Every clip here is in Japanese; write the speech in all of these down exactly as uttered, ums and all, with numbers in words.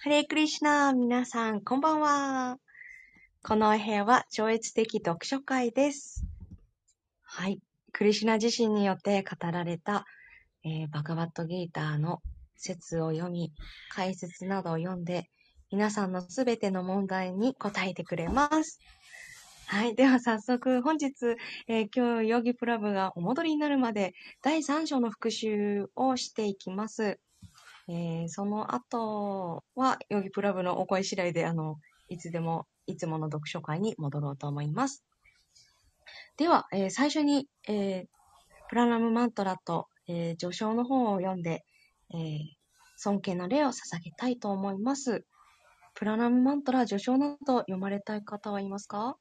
ハレークリシュナー、皆さん、こんばんは。このお部屋は超越的読書会です。はい。クリシュナ自身によって語られた、えー、バガバットギーターの説を読み、解説などを読んで、皆さんのすべての問題に答えてくれます。はい。では早速、本日、えー、今日、ヨギプラブがお戻りになるまで、だいさん章の復習をしていきます。えー、その後は、ヨギプラブのお声次第で、あの、いつでも、いつもの読書会に戻ろうと思います。では、えー、最初に、えー、プラナムマントラと、えー、序章の方を読んで、えー、尊敬の礼を捧げたいと思います。プラナムマントラ、序章など読まれたい方はいますか？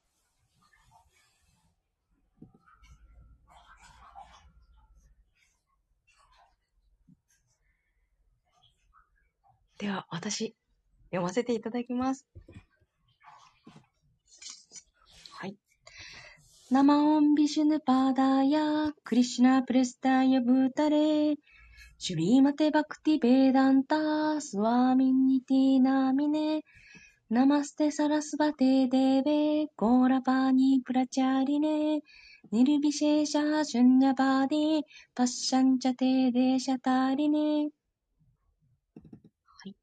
では、私、読ませていただきます。はい。ナマオンビシュヌパーダーヤ、クリシュナプレスタヤブータレ、シュリーマテバクティベーダンター、スワーミンニティナミネ、ナマステサラスバテデーベ、ゴーラパーニプラチャリネ、ニルビシェーシャーシュンニャバーディ、パッシャンチャテーデーシャタリネ。はい。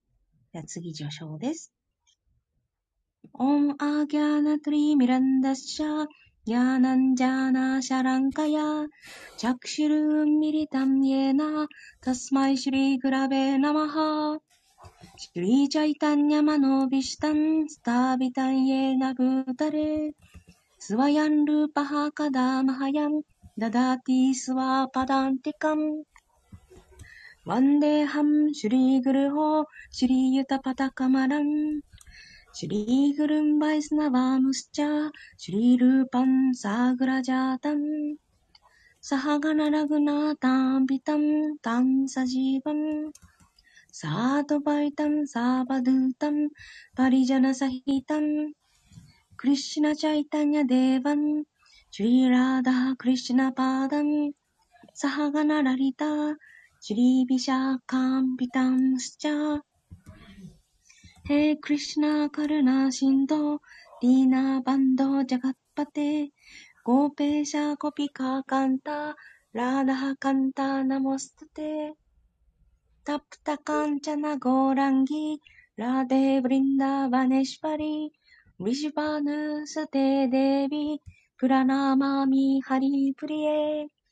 では次序章です。オンアギャーナトリミランダッシャー、ヤーナンジャーナシャランカヤ、チャクシュルーンミリタンイエナ、タスマイシュリーグラベナマハ、シュリーチャイタンヤマノビシタン、スタービタンイエナブータレ、スワヤンルーパハカダマハヤン、ダダーティースワーパダンティカン、ワンデーハム、シュリーグルホー、シュリーユタパタカマラン、シュリーグルンバイスナバームスチャー、シュリールーパンサーグラジャータン、サハガナラグナータンビタン、タンサジーバン、サードバイタンサーバドゥータン、パリジャナサヒタン、クリシュナチャイタニャデーバン、シュリーラーダークリシュナパーダン、サハガナラリター、シュリービシャーカンビタンスチャー、हे कृष्णा करुणा सिंधो दीना बंधो जगतपते गोपेशा गोपिका कांता राधा कांता नमोस्तुते तप्त कांचन गौरांगी राधे वृंदावनेश्वरी वृषभानुसुते देवी प्रणमामि हरिप्रिये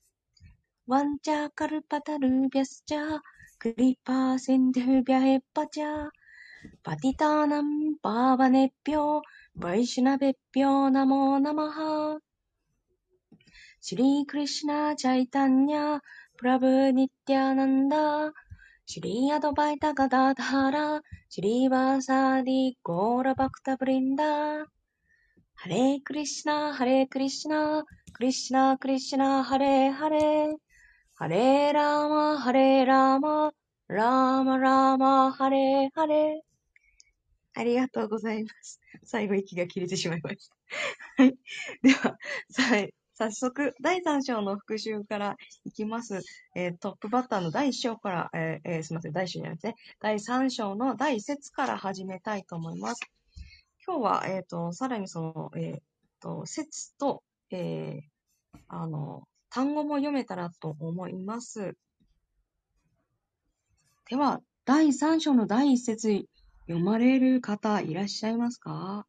वञ्चाकल्पतरुभ्यश्च कृपा सिन्धुभ्यः एव च पतितानां पावनेभ्यो वैष्णवेभ्यो नमो नमः। श्रीकृष्ण चैतन्य प्रभु नित्यानन्द श्री अद्वैत गदाधर श्रीवासादि गौरभक्तवृन्द हरे कृष्ण हरे कृष्ण कृष्ण कृष्ण हरे हरे हरे राम हरे राम राम राम हरे हरे。ありがとうございます。最後息が切れてしまいました。はい。では、さ早速、だいさん章の復習からいきます。えートップバッターのだいいっ章から、えーえーすみません、だいいっ章じゃないですね。だいさん章のだいいち節から始めたいと思います。今日は、えっ、と、さらにその、えっ、と、節と、えーあの、単語も読めたらと思います。では、だいさん章のだいいち節、読まれる方いらっしゃいますか？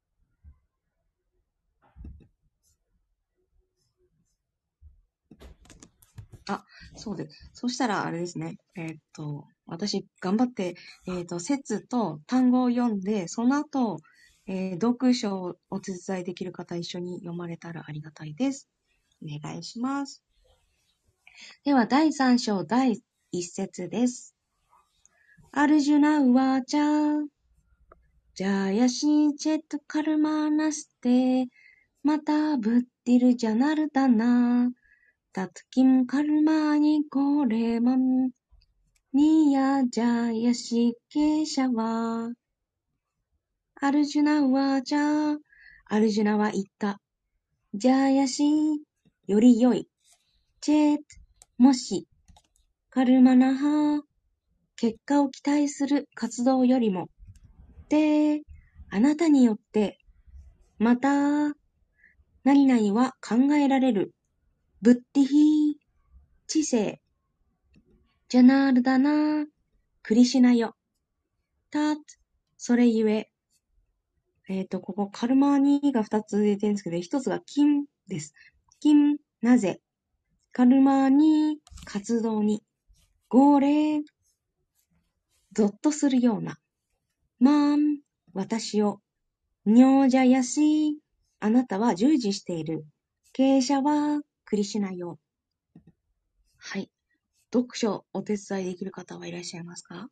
あ、そうです。そしたら、あれですね。えーっと、私、頑張って、えーっと、説と単語を読んで、その後、えー読書をお手伝いできる方一緒に読まれたらありがたいです。お願いします。では、だいさん章だいいち節です。アルジュナウワーチャー、ジャヤシーチェットカルマーナステ、またブッディルジャナルダナー、タツキンカルマーニコレマン、ニヤジャヤシケシャワ。アルジュナはじゃあ、アルジュナは言った。ジャヤシ、より良い。チェート、もし。カルマナハ、結果を期待する活動よりも。 て、あなたによって、また、何々は考えられる。ブッティヒ、知性。ジャナールダナ、クリシュナよ。た、それゆえ。えっと、ここ、カルマーニが二つ出てるんですけど、一つが金です。金、なぜ。カルマーニ、活動に。号令、ゾッとするような。マーン、私を。ニョージャヤシ、あなたは従事している。経営者は、クリシュナよ。はい。読書お手伝いできる方はいらっしゃいますか？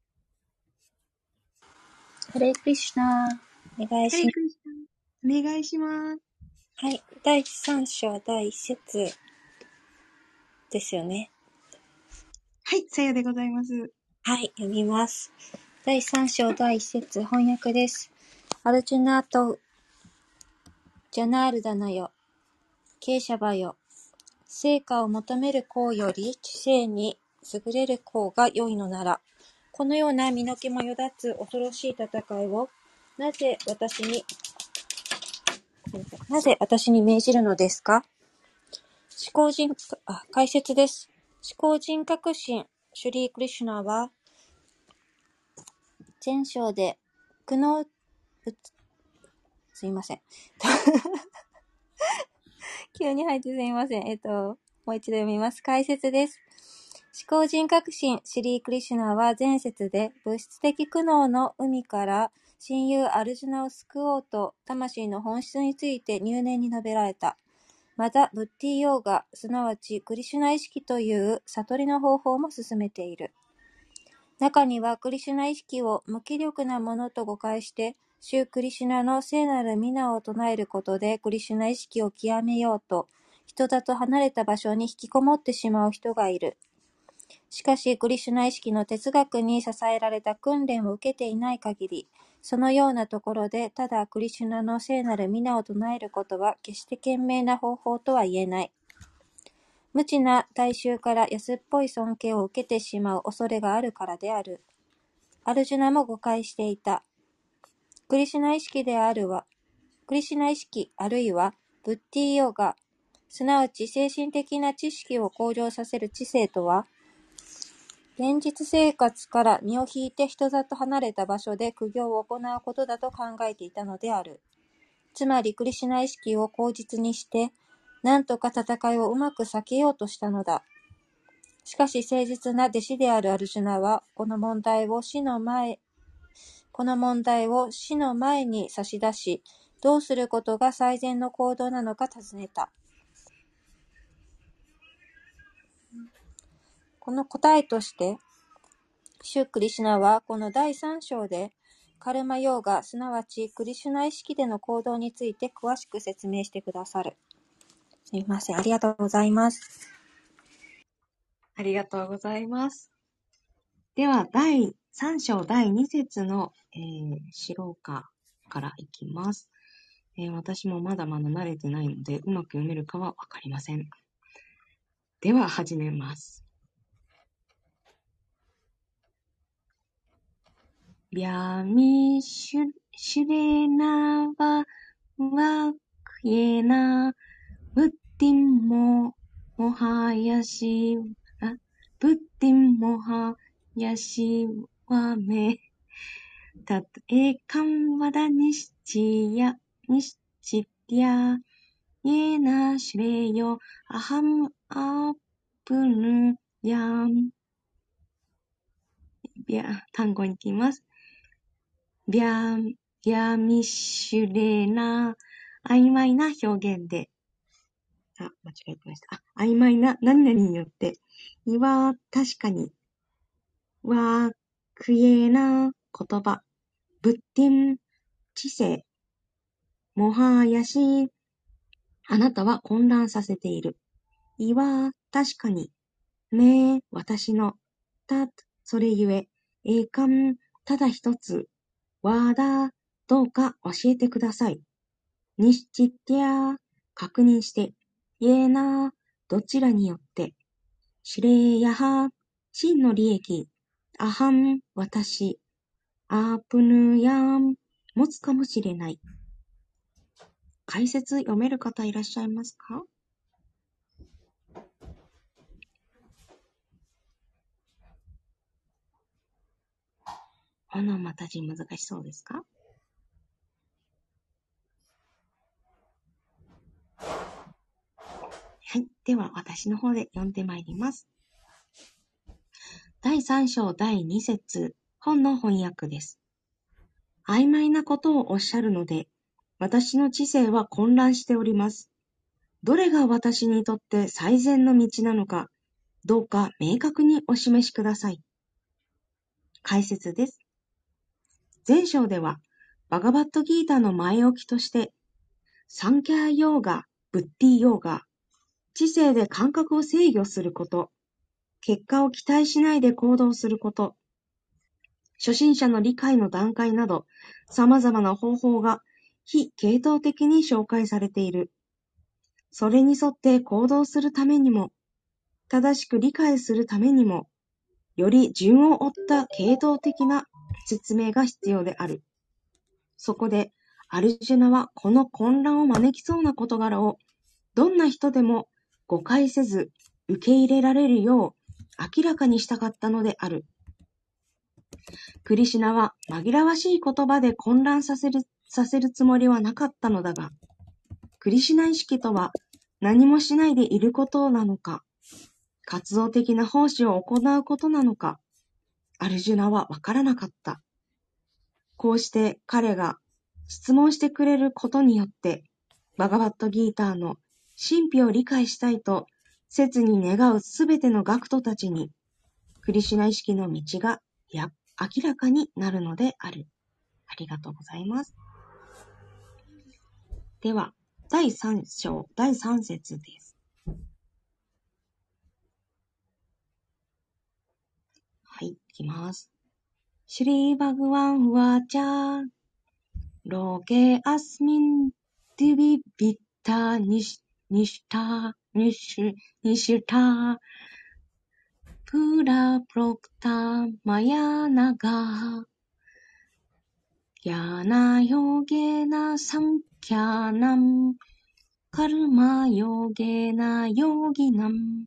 ハレークリシュナ。お願いハレします。 クリシナ。お願いします。 はい。だいさん章だいいち節ですよね。 はい、さようでございます。 はい。読みます。だいさん章だいいち節翻訳です。アルジュナとジャナールダナよ。ケーシャバよ。成果を求める功より知性に優れる功が良いのなら、このような身の毛もよだつ恐ろしい戦いを、なぜ私に、なぜ私に命じるのですか？思考人、あ、解説です。思考人格心、シュリー・クリシュナは、前章で、苦悩、すいません。急に入ってすいません。えっと、もう一度読みます。解説です。思考人格心、シュリー・クリシュナは前節で、物質的苦悩の海から親友アルジュナを救おうと、魂の本質について入念に述べられた。また、ブッティヨーガ、すなわちクリシュナ意識という悟りの方法も進めている。中にはクリシュナ意識を無気力なものと誤解して、シュクリシュナの聖なる皆を唱えることでクリシュナ意識を極めようと、人里離れた場所に引きこもってしまう人がいる。しかし、クリシュナ意識の哲学に支えられた訓練を受けていない限り、そのようなところでただクリシュナの聖なる皆を唱えることは決して賢明な方法とは言えない。無知な大衆から安っぽい尊敬を受けてしまう恐れがあるからである。アルジュナも誤解していた。クリシュナ意識であるは、クリシュナ意識あるいはブッティヨガ、すなわち精神的な知識を向上させる知性とは、現実生活から身を引いて人里離れた場所で苦行を行うことだと考えていたのである。つまりクリシュナ意識を口実にして、なんとか戦いをうまく避けようとしたのだ。しかし誠実な弟子であるアルジュナは、この問題を死の前、この問題を死の前に差し出し、どうすることが最善の行動なのか尋ねた。この答えとして、シュクリシュナはこのだいさん章で、カルマヨーガ、すなわちクリシュナ意識での行動について詳しく説明してくださる。すみません。ありがとうございます。 ありがとうございます。では、だいさん章だいに節の、えー、白歌からいきます、えー。私もまだまだ慣れてないので、うまく読めるかはわかりません。では、始めます。ビャミシュ、シュレナワワクエナブッティンモモハヤシあブッティンモハヤシワメタトエカンワダニシチヤニシチティアイエナシュレヨアハムアプヌヤンビャ単語に行きます。ビャビャミシュレナ曖昧な表現であ、間違えてました。あ、曖昧な何々によって。いは、確かに。わ、クエな言葉。ブッティン、知性。モハヤシ、あなたは混乱させている。いは、確かに。め、私の。た、それゆえ。えいかん、ただ一つ。わだ、どうか教えてください。にしちってや、確認して。いえな、どちらによって。シュレーヤハ、真の利益。アハン、私。 アープヌヤン持つかもしれない。解説読める方いらっしゃいますか？オノマタジ難しそうですか？はい。では、私の方で読んでまいります。だいさん章だいに節、本の翻訳です。曖昧なことをおっしゃるので、私の知性は混乱しております。どれが私にとって最善の道なのか、どうか明確にお示しください。解説です。前章では、バガバットギータの前置きとして、サンキャーヨーガ、ブッディヨーガ、知性で感覚を制御すること、結果を期待しないで行動すること、初心者の理解の段階など、様々な方法が非系統的に紹介されている。それに沿って行動するためにも、正しく理解するためにも、より順を追った系統的な説明が必要である。そこで、アルジュナはこの混乱を招きそうな事柄を、どんな人でも誤解せず受け入れられるよう明らかにしたかったのである。クリシュナは紛らわしい言葉で混乱させる、させるつもりはなかったのだが、クリシュナ意識とは何もしないでいることなのか、活動的な奉仕を行うことなのか、アルジュナはわからなかった。こうして彼が質問してくれることによって、バガバットギーターの神秘を理解したいと切に願うすべての学徒たちに、クリシュナ意識の道がや明らかになるのである。ありがとうございます。では、だいさん章、だいさん節です。はい、いきます。シュリーバグワンワチャー、ロゲアスミンディビビッタニシニシタニシニシタプラプロクタマヤナガヤナヨゲナサンキャナムカルマヨゲナヨギナム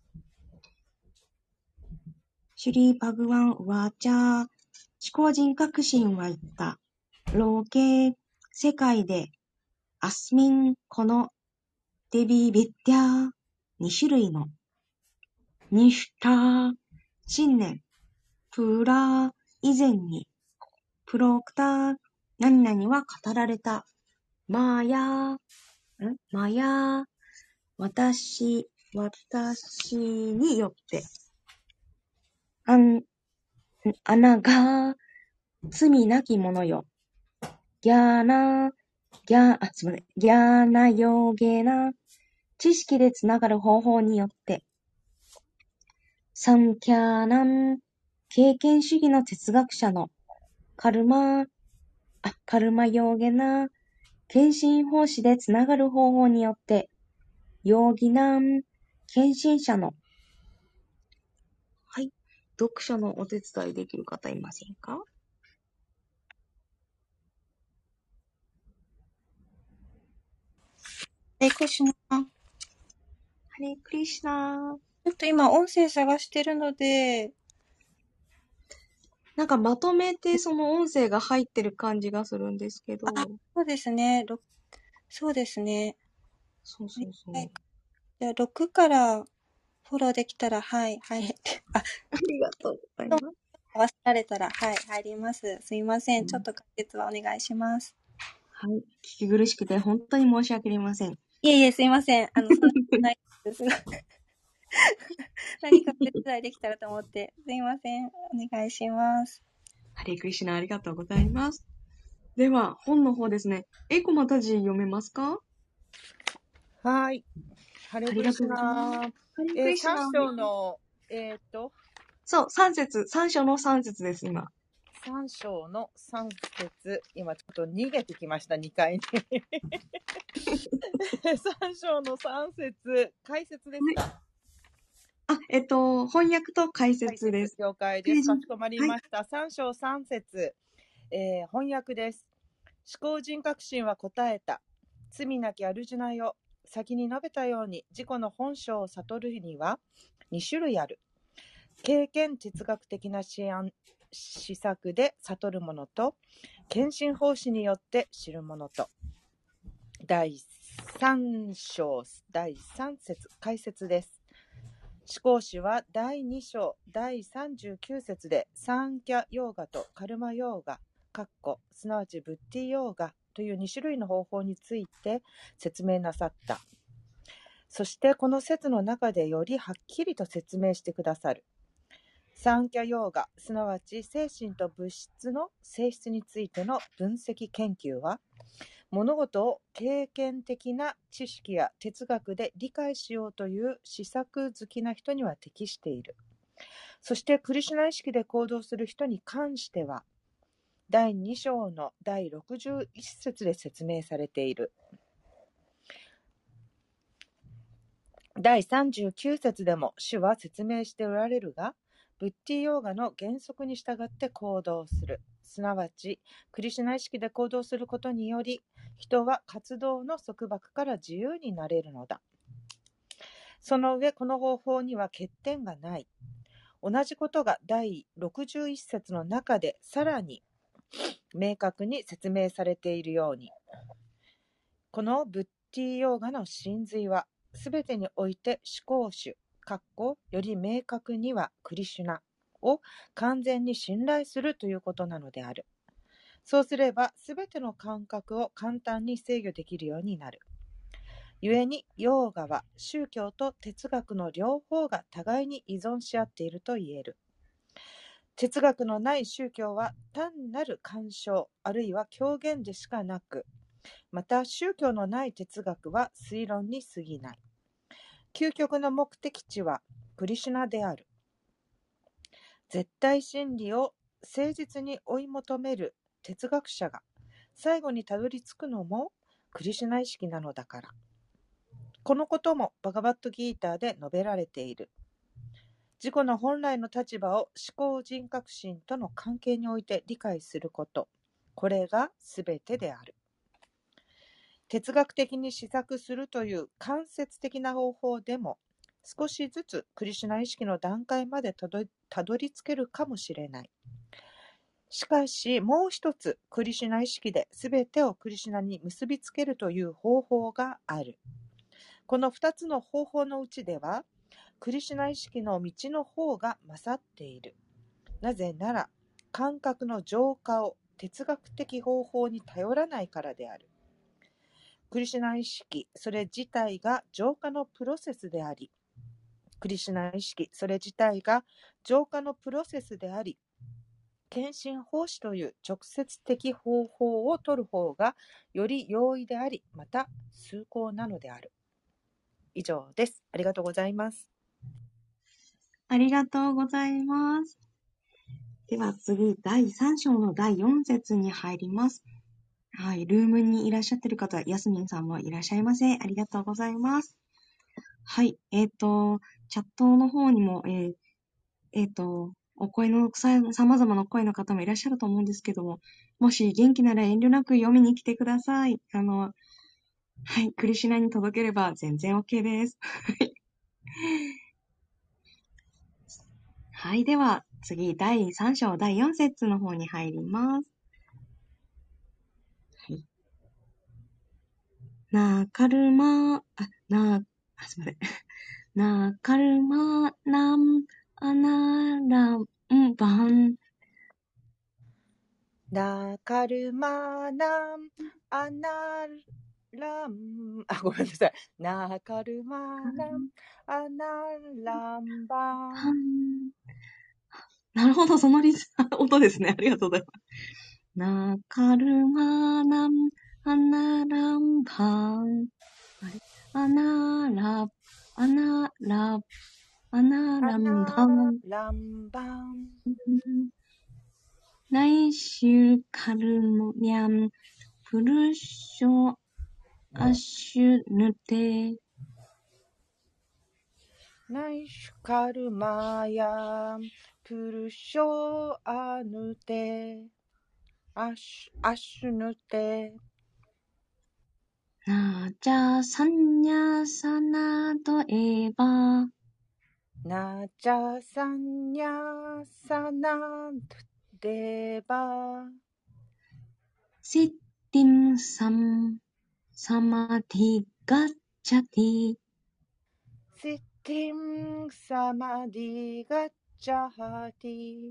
シュリーパグワンワチャー、思考人格心は言った。ローケ、世界で、アスミン、この、デビビッディャー、二種類の、ニシュター、信念、プラー、以前に、プロクター、何々は語られた。マーヤー、んマーヤー、私、私によって、あん、アナが、罪なき者よ。ギャーナ、ギャー、あ、すみません。ギャーナヨーゲーナ、知識でつながる方法によって、サンキャーナン、経験主義の哲学者のカルマ、あ、カルマヨーゲナ、献身奉仕でつながる方法によって、ヨーギナン、献身者の、はい、読書のお手伝いできる方いませんか？ え、クリシュナ。 ハレクリシュナ。 ちょっと今音声探してるので、 なんかまとめてその音声が入ってる感じがするんですけど。 あ、そうですね。ろそうですね。 そうそうそう。 はい。じゃあろくからフォローできたら、はい、はい。あ、 ありがとうございます。 合わせられたら、はい、入ります。すいません。ちょっと解説はお願いします。 はい。聞き苦しくて本当に申し訳ありません。 いえいえ、すいません。あの、そんなことないです。何かお手伝いできたらと思って。すいません。お願いします。 ハレクリシュナありがとうございます。では、本の方ですね。エコマタジ読めますか？ はい。ハレクリシュナハレクー。えー、 リシュナさん章の、えーっと、 そう、さん節、さん章のさん節です、今。 さん章のさん節、今ちょっと逃げてきました、にかいに。さん章のさん節、解説ですか？ あ、えっと、翻訳と解解説です。 説了解ページ、 です。かしこまりはい。 ました。さん章さん節、えー翻訳です。思考人格心は答えた。罪なき主なよ。先に述べたように自己の本性を悟るにはに種類ある。経験哲学的な思案思索で悟るものと、献身奉仕によって知るものと。だいさん章だいさん節解説です。思考史はだいに章だいさんじゅうきゅう節でサンキャヨーガとカルマヨーガ、かっこすなわちブッディヨーガというに種類の方法について説明なさった。そしてこの説の中でよりはっきりと説明してくださる。サンキャヨーガ、すなわち精神と物質の性質についての分析研究は、物事を経験的な知識や哲学で理解しようという思索好きな人には適している。そしてクリシュナ意識で行動する人に関しては、だいに章のだいろくじゅういち節で説明されている。だいさんじゅうきゅう節でも主は説明しておられるが、ブッディヨーガの原則に従って行動する。すなわち、クリシュナ意識で行動することにより、人は活動の束縛から自由になれるのだ。その上、この方法には欠点がない。同じことがだいろくじゅういち節の中でさらに明確に説明されているように、このブッディヨーガの真髄は、すべてにおいて思考主、かっこより明確にはクリシュナを完全に信頼するということなのである。そうすれば、すべての感覚を簡単に制御できるようになる。故に、ヨーガは宗教と哲学の両方が互いに依存し合っていると言える。哲学のない宗教は単なる鑑賞あるいは狂言でしかなく、また宗教のない哲学は推論に過ぎない。究極の目的地はクリシュナである。絶対真理を誠実に追い求める哲学者が最後にたどり着くのもクリシュナ意識なのだから。このこともバガバットギーターで述べられている。自己の本来の立場を思考人格心との関係において理解すること、これがすべてである。哲学的に思索するという間接的な方法でも、少しずつクリシュナ意識の段階までたど、たどり着けるかもしれない。しかし、もう一つクリシュナ意識で全てをクリシュナに結びつけるという方法がある。この二つの方法のうちでは、クリシュナ意識の道の方が勝っている。なぜなら、感覚の浄化を哲学的方法に頼らないからである。クリシュナ意識、それ自体が浄化のプロセスであり、クリシュナ意識、それ自体が浄化のプロセスであり、献身奉仕という直接的方法を取る方がより容易であり、また崇高なのである。以上です。ありがとうございます。 ありがとうございます。では次、だいさん章のだいよん節に入ります。はい、ルームにいらっしゃってる方、ヤスミンさんもいらっしゃいませ。ありがとうございます。はい、えっ、と、チャットの方にも、えーえっ、と、お声のさ、様々な声の方もいらっしゃると思うんですけども、もし元気なら遠慮なく読みに来てください。あの、はい、クリシュナに届ければ全然 OK です。はい、では次、だいさん章だいよん節の方に入ります。はい。なカルマ、あ、な、あ、すみません。なカルマナムアナランバン。 なカルマナムアナラン、あ、ごめんなさい。なカルマナムアナランバン。 なるほど、そのリズ音ですね。ありがとうございます。なカルマナムアナランバン。アナラ、アナラ、アナランバン。 ランバン。 ナイシュカルニャンプルショアシュヌテ。 ナイシュカルマヤプルショアヌテアシュアシュヌテナジャサンニャサナとエバナジャサンニャサナデバシッティンサムサマディガッチャティ。 シッティンサマディガッチャハティ。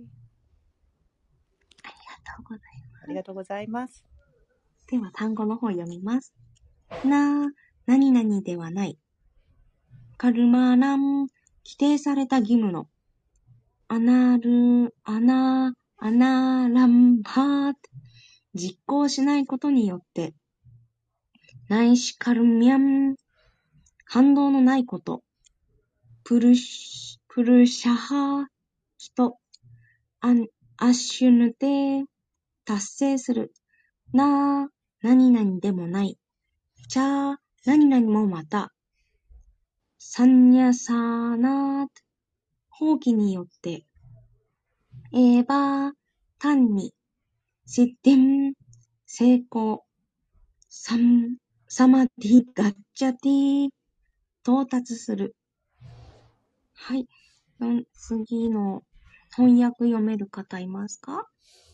ありがとうございます。 ありがとうございます。 では単語の方読みます。な、何々ではない。カルマラン、規定された義務の。アナル、アナ、アナランパート、実行しないことによって。ナイシカルミャン、反動のないこと。プルシ、プルシャハ、人。アン、アッシュヌテ、達成する。な、何々でもない。チャー、何々もまた。サンニャサーナー、放棄によって。エーバー、単に。シッティン、成功。サム、サマディ、ガッチャティ、到達する。はい。次の翻訳読める方いますか？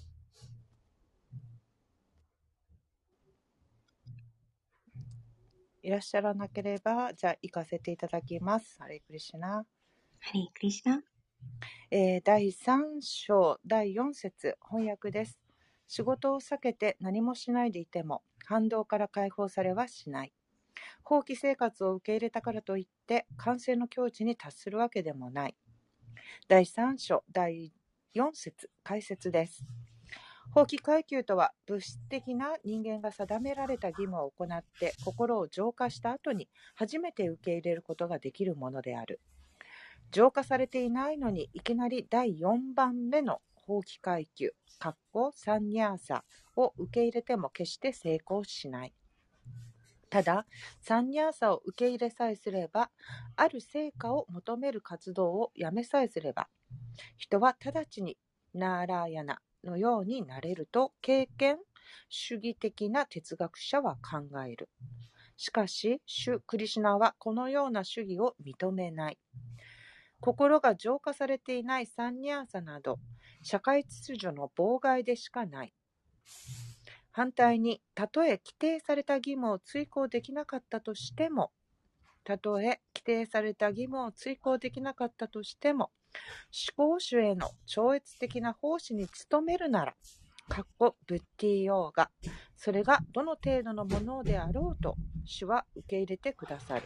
いらっしゃらなければ、じゃあ行かせていただきます。ハレクリシュナ。 ハレクリシュナ。 えー、だいさん章だいよん節翻訳です。仕事を避けて何もしないでいても反動から解放されはしない。放棄生活を受け入れたからといって完成の境地に達するわけでもない。だいさん章だいよん節解説です。放棄階級とは物質的な人間が定められた義務を行って心を浄化した後に初めて受け入れることができるものである。浄化されていないのにいきなりだいよんばんめの放棄階級サンニャーサを受け入れても決して成功しない。ただサンニャーサを受け入れさえすれば、ある成果を求める活動をやめさえすれば、人は直ちにナーラーヤナのようになれると経験主義的な哲学者は考える。しかし、シュ・クリシュナはこのような主義を認めない。心が浄化されていないサンニャーサなど、社会秩序の妨害でしかない。反対に、たとえ規定された義務を遂行できなかったとしても、たとえ規定された義務を遂行できなかったとしても、思考主への超越的な奉仕に努めるなら、かっこブッディヨーガ、それがどの程度のものであろうと、主は受け入れてくださる。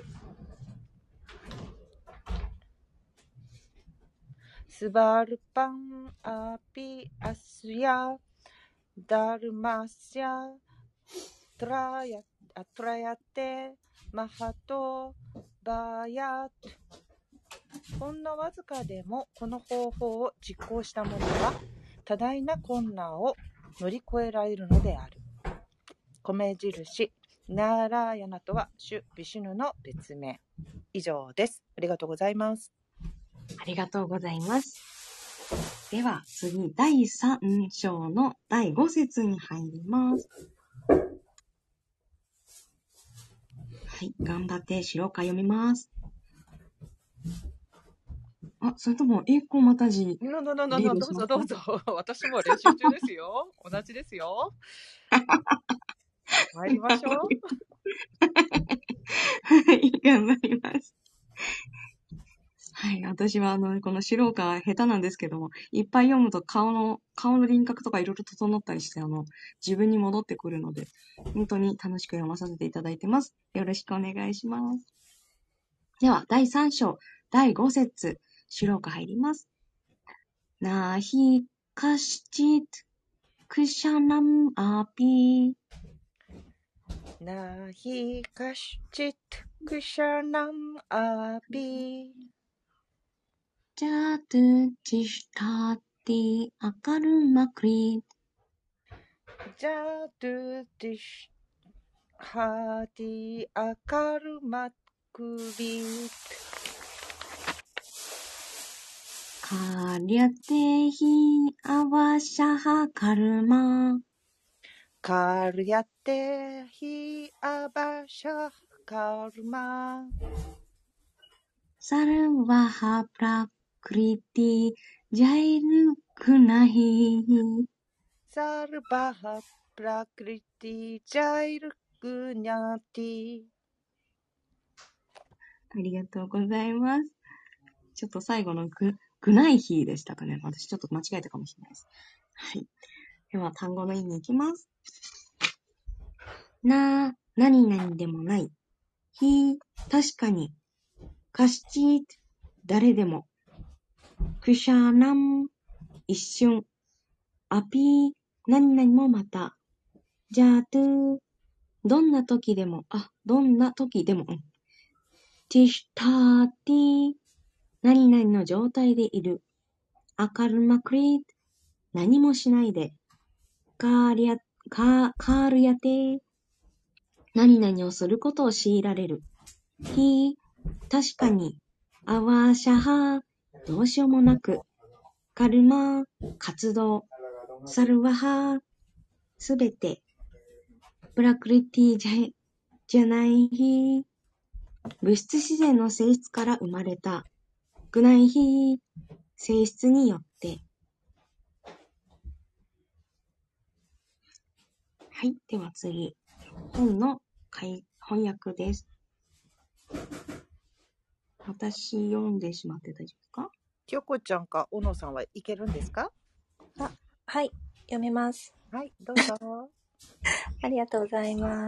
スバルパンアピアスヤダルマスヤトラヤトラヤテマハトバヤト。ほんのわずかでもこの方法を実行した者は多大な困難を乗り越えられるのである。米印ナーラーヤナとは主ビシュヌの別名。以上です。ありがとうございます。 ありがとうございます。では次だいさん章のだいご節に入ります。はい、頑張って白か読みます。あ、それとも英語またじののののリーのどうドしますか？ ぞどうぞ。私も練習中ですよ。同じですよ。参りましょう。 はい、頑張ります。はい、私はあの、この素人は下手なんですけども、いっぱい読むと顔の、顔の輪郭とかいろいろ整ったりして、あの、自分に戻ってくるので、本当に楽しく読まさせていただいてます。よろしくお願いします。では、だいさん章、だいご節、素人入ります。なひかしちつくしゃなむあぴなひかしちとくしゃなんあぴじゃとちしたてあかるまくりじゃとてしはてあかるまくりカリャテヒアワシャハカルマカルヤテヒアバシャカルマサルヴァハプラクリティジャイルクナヒサルバハプラクリティジャイルクニャティ。 ありがとうございます。ちょっと最後のグ、グナイヒーでしたかね。私ちょっと間違えたかもしれないです。はい。では単語の意味いきます。な、何々でもない。ひ、確かに。かしち、誰でも。くしゃなん、一瞬。あぴー、何々もまた。じゃあとゥ、どんな時でも。あ、どんな時でも。ティシュターティ、何々の状態でいる。アカルマクリー、何もしないで。カーリャ、カー、カールヤテ、何々をすることを強いられる。ひ、確かに。アワーシャハ、どうしようもなく。カルマ、活動。サルワハ、すべて。プラクリティじゃ、じゃないひ、物質自然の性質から生まれた。グナイひ、性質によって。はい。では次。本の翻訳です。私読んでしまって大丈夫ですか？ きよこちゃんか小野さんはいけるんですか？ あ、はい、読めます。 はい、どうぞ。 ありがとうございます。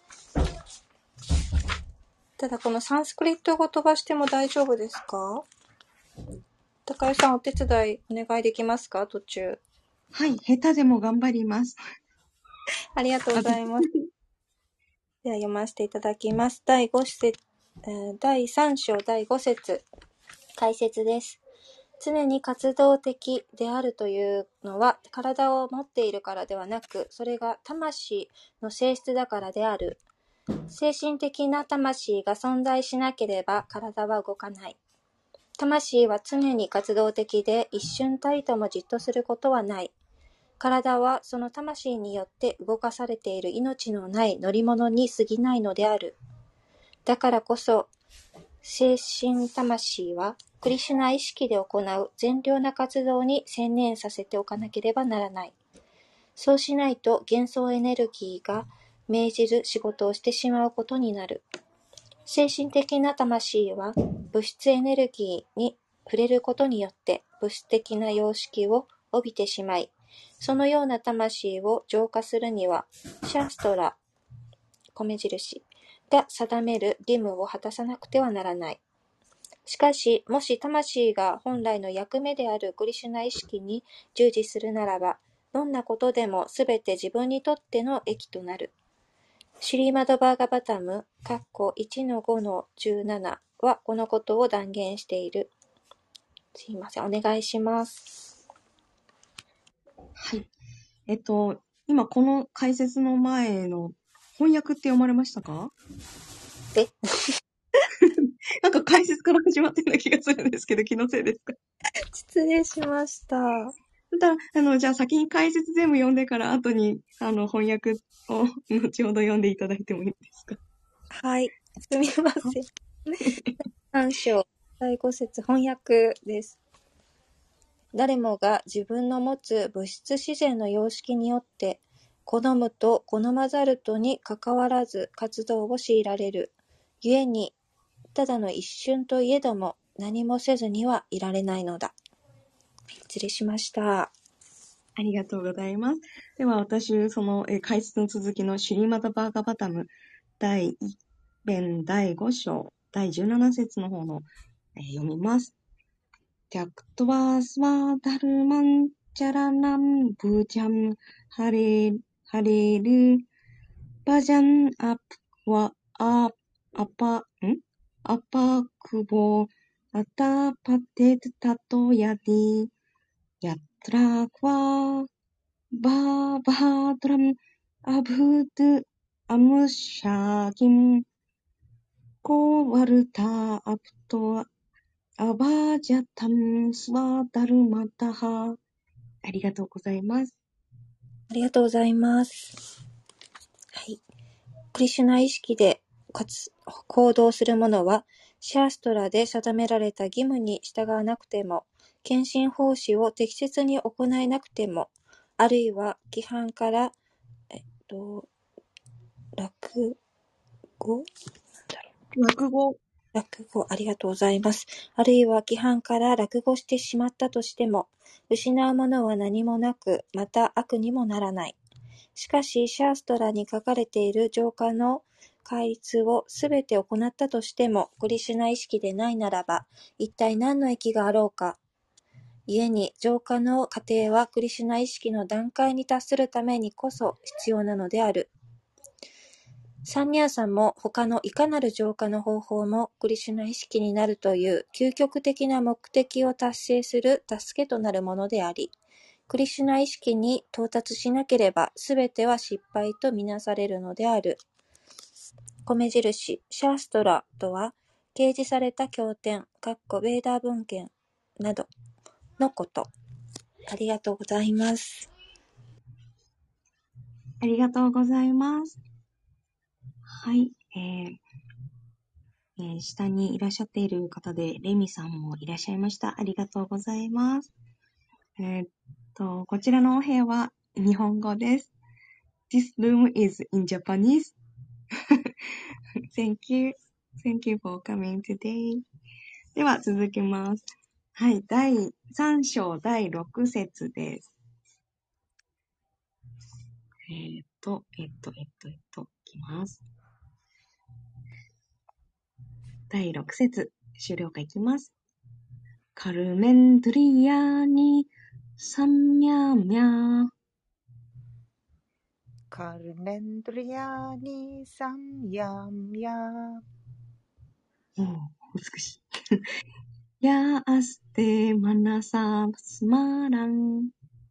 ただこのサンスクリット語飛ばしても大丈夫ですか？高井さんお手伝いお願いできますか？途中。 はい。下手でも頑張ります。 ありがとうございます。では読ませていただきます。だいご節、えー、だいさん章だいご節解説です。常に活動的であるというのは体を持っているからではなく、それが魂の性質だからである。精神的な魂が存在しなければ体は動かない。魂は常に活動的で一瞬たりともじっとすることはない。体はその魂によって動かされている命のない乗り物に過ぎないのである。だからこそ、精神魂はクリシュナ意識で行う善良な活動に専念させておかなければならない。そうしないと幻想エネルギーが命じる仕事をしてしまうことになる。精神的な魂は物質エネルギーに触れることによって物質的な様式を帯びてしまい、そのような魂を浄化するには、シャストラ、米印が定める義務を果たさなくてはならない。しかし、もし魂が本来の役目であるクリシュナ意識に従事するならば、どんなことでもすべて自分にとっての益となる。シュリーマドバーガバタム いちのごのじゅうなな はこのことを断言している。すいません、お願いします。 はい。えっと、今この解説の前の翻訳って読まれましたか？ えなんか解説から始まってるような気がするんですけど、気のせいですか？ 失礼しました。 だあの、じゃあ先に解説全部読んでから後に、あの、翻訳を後ほど読んでいただいてもいいですか？ はい、すみません。さん章だいご節翻訳です。誰もが自分の持つ物質自然の様式によって好むと好まざるとにかかわらず活動を強いられる。故にただの一瞬といえども何もせずにはいられないのだ。失礼しました。 ありがとうございます。では私、その、え解説の続きのシュリーマダバーガバタム第一編第五章第十七節の方の、えー読みます。テャクトワスワダルマンチャラナンブジャンハレハレルバジャンアプワアアパんアパクボアタパテタトヤディヤトラクワバーバードラムアブドアムシャギムコワルタアプトアバージャタンスワダルマタハ。ありがとうございます。 ありがとうございます。はい。クリシュナ意識で活行動する者は、シャーストラで定められた義務に従わなくても、献身奉仕を適切に行えなくても、あるいは規範から、えっと、落語落語。 落語、ありがとうございます。あるいは規範から落語してしまったとしても、失うものは何もなく、また悪にもならない。しかし、シャーストラに書かれている浄化の戒律をすべて行ったとしても、クリシュナ意識でないならば、一体何の益があろうか。故に、浄化の過程はクリシュナ意識の段階に達するためにこそ必要なのである。サンニャーサも他のいかなる浄化の方法もクリシュナ意識になるという究極的な目的を達成する助けとなるものであり、クリシュナ意識に到達しなければすべては失敗とみなされるのである。米印、シャーストラとは、掲示された経典、ベーダー文献などのこと。ありがとうございます。 ありがとうございます。はい。えーえー下にいらっしゃっている方で、レミさんもいらっしゃいました。ありがとうございます。えーっと、こちらのお部屋は日本語です。This room is in Japanese. Thank you. Thank you for coming today. では続きます。はい。だいさん章だいろく節です。えーっと、えっと、えっと、えっと、いきます。だいろく節、終了回いきます。カルメンドリヤニサンミャミャカルメンドリアニサンヤンヤおー、美しい。ヤアステマナサスマラン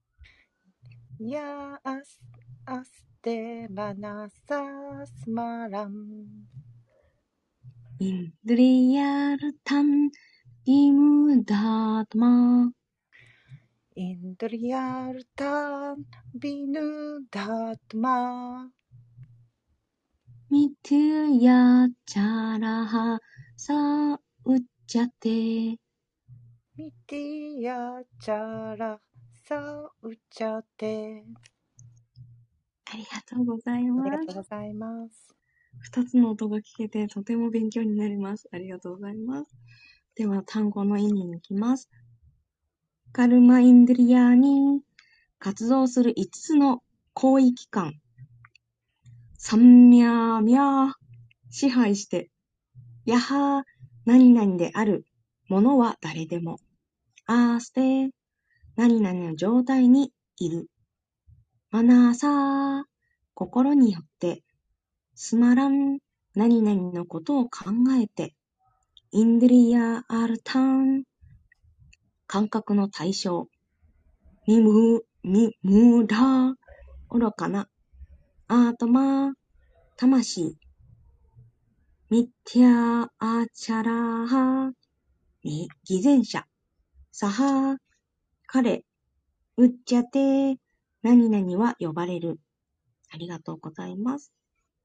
ヤアスアステマナサスマランインドリヤルタンイムダートマインドリアルタンビヌダトマミトゥヤチャラハサウチャテ。 ミティヤチャラサウチャテ。 ありがとうございあります。 がとうございます。 二つの音が聞けてとても勉強になります。ありがとうございます。では単語の意味に行きます。カルマインドリヤーに活動する五つの行為機関。サンミャーミャー支配して。やは何々であるものは誰でも。あーステ何々の状態にいる。マナーサー心によって。スマラン何々のことを考えて。インドリヤアルタン感覚の対象。ミム、ミ、ムダ愚かな。アートマ魂。ミティアアチャラーハ偽善者。サハ彼。ウッチャテ何々は呼ばれる。ありがとうございます。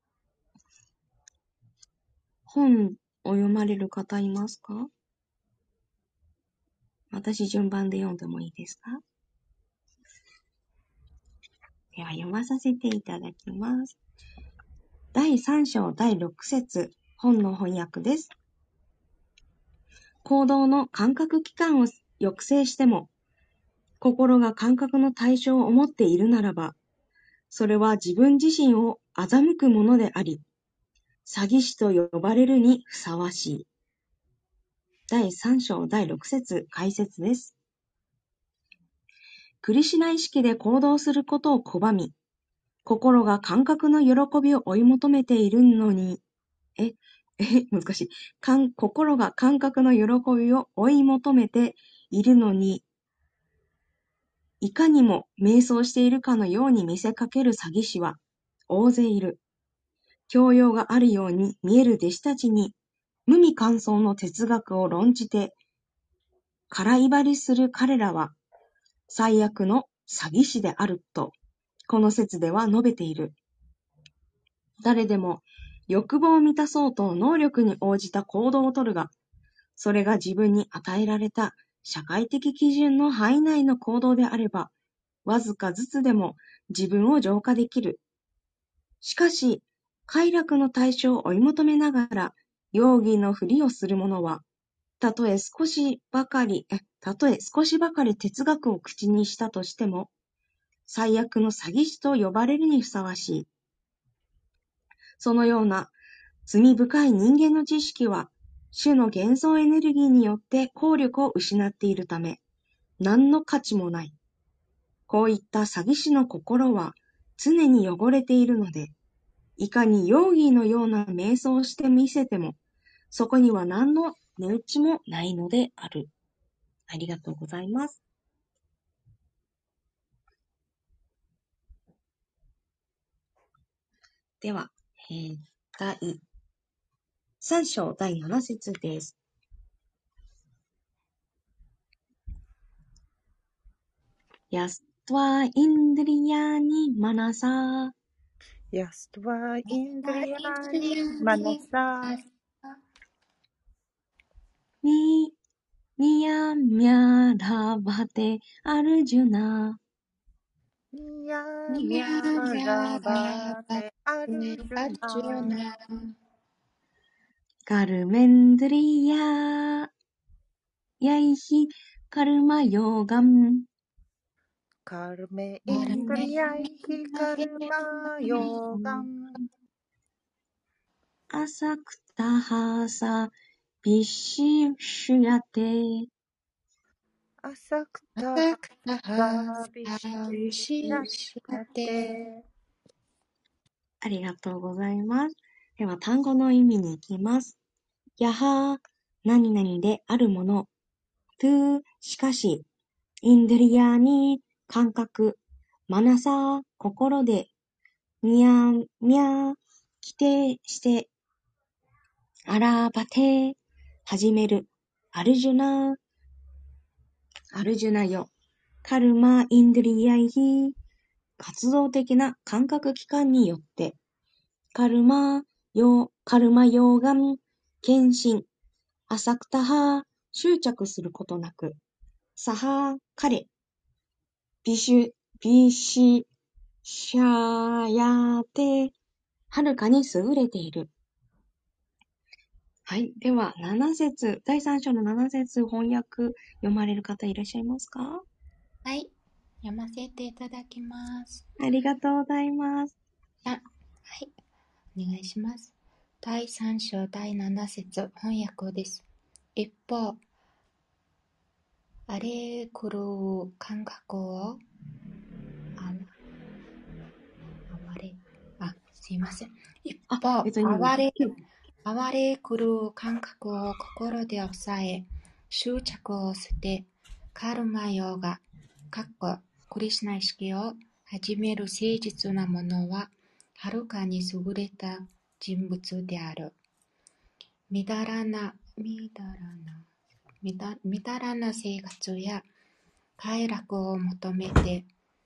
本を読まれる方いますか？私順番で読んでもいいですか？では読まさせていただきます。だいさん章だいろく節、本の翻訳です。行動の感覚器官を抑制しても、心が感覚の対象を持っているならば、それは自分自身を欺くものであり、詐欺師と呼ばれるにふさわしい。だいさん章だいろく節解説です。クリシュナ意識で行動することを拒み、心が感覚の喜びを追い求めているのに、え、え、難しい。かん心が感覚の喜びを追い求めているのに、いかにも瞑想しているかのように見せかける詐欺師は大勢いる。教養があるように見える弟子たちに無味乾燥の哲学を論じて空威張りする彼らは最悪の詐欺師であると、この説では述べている。誰でも欲望を満たそうと能力に応じた行動をとるが、それが自分に与えられた社会的基準の範囲内の行動であれば、わずかずつでも自分を浄化できる。しかし、快楽の対象を追い求めながら、容疑のふりをする者は、たとえ少しばかり、え、たとえ少しばかり哲学を口にしたとしても、最悪の詐欺師と呼ばれるにふさわしい。そのような罪深い人間の知識は、種の幻想エネルギーによって効力を失っているため、何の価値もない。こういった詐欺師の心は常に汚れているので、いかにヨーギーのような瞑想をしてみせても、そこには何の値打ちもないのである。ありがとうございます。では、えー、第さん章だいなな節です。ヤストワインドリヤニマナサヤストワインドリヤーニマナサニニヤミャラバテアルジュナニヤミャラバテアルジュナカルメンドリヤヤイヒカルマヨーガムカルメインドリヤイヒカルマヨーガンアサクタハサビシュシュヤテアサクタハビシナシヤテ。 ありがとうございます。では単語の意味に行きます。やは、何々であるもの。トゥ、しかし。インドリヤに、感覚。マナサ、心で。ニヤミャ、規定して。アラバテ、始める。アルジュナ、アルジュナよ。カルマインドリヤイヒ、活動的な感覚器官によって。カルマ、ヨ、カルマヨーガン、献身。アサクタハ、執着することなく。サハ、彼。ビシュ、ビシ、シャヤテ、はるかに優れている。はい。では、なな節、だいさん章のなな節翻訳読まれる方いらっしゃいますか？ はい。読ませていただきます。 ありがとうございます。 あ、はい。お願いします。だいさん章だいなな節翻訳です。一方、あれ来る感覚を、あ、あわれ、あ、すいません。一あ、 方、 別にいいあわれ、 です。 あわれ来る感覚を心で抑え、執着を捨て、カルマヨガ、かっこクリシュナ意識を始める誠実なものは、はるかに優れた人物である。みだらな、みだらな、みだ、みだらな生活や快楽を求めて、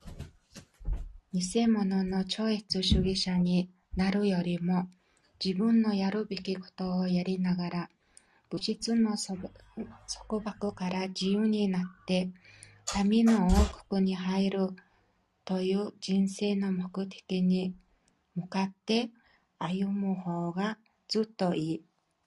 偽物の超越主義者になるよりも、自分のやるべきことをやりながら、物質の束縛から自由になって、神の王国に入るという人生の目的に向かって歩む方がずっといい。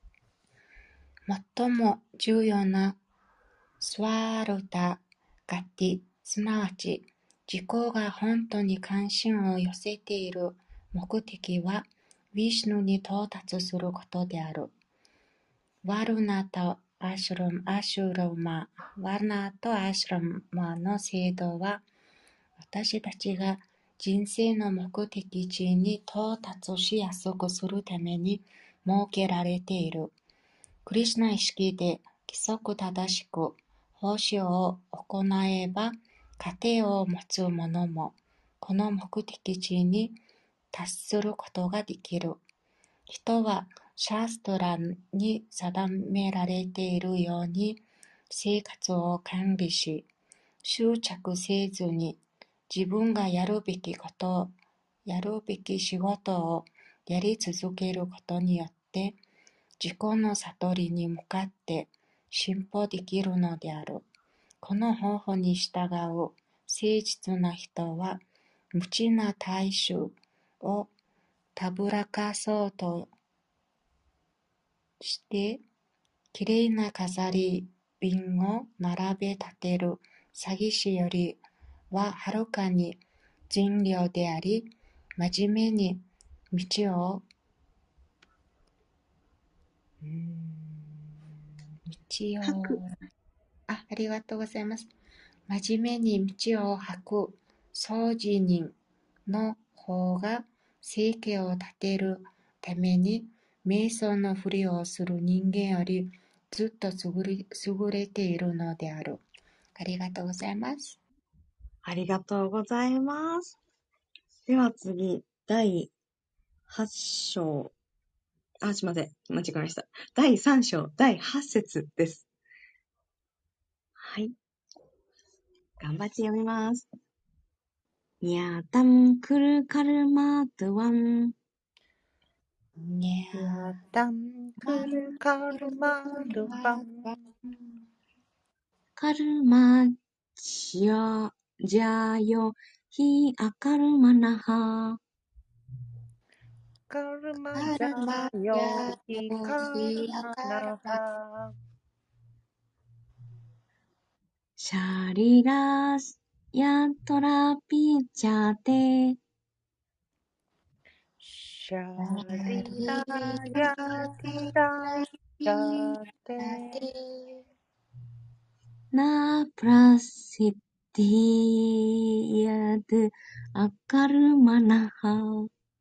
最も重要なスワルタガティ、すなわち自己が本当に関心を寄せている目的は、ヴィシュヌに到達することである。ワルナとアシュラム、アシュラマ、ワルナとアシュラマの制度は、私たちが人生の目的地に到達しやすくするために設けられている。クリシュナ意識で規則正しく奉仕を行えば、家庭を持つ者もこの目的地に達することができる。人はシャストラに定められているように、 生活を管理し、執着せずに自分がやるべきこと、やるべき仕事をやり続けることによって、自己の悟りに向かって進歩できるのである。この方法に従う誠実な人は、無知な大衆をたぶらかそうとして、きれいな飾り瓶を並べ立てる詐欺師よりははるかに善良であり、真面目に道を、うーん道吐く。 を、あ、ありがとうございます。真面目に道を履く掃除人の方が生計を立てるために瞑想のふりをする人間よりずっと優れ優れているのである。ありがとうございます。 ありがとうございます。では次、だいはち章。あ、すいません。間違えました。だいさん章、だいはち節です。はい。頑張って読みます。にゃーたんくるかるまーとわん。 にゃやたんくるかるまるばん。 かるまじゃ、じゃよ、ひあかるまなは。 かるまじゃカルマよやひよかるひやまなカルマは。 シャリラスやトラピチャテ。 シャリラリやラティラシピャテ。 テなプラシティヤドアカルマナハ。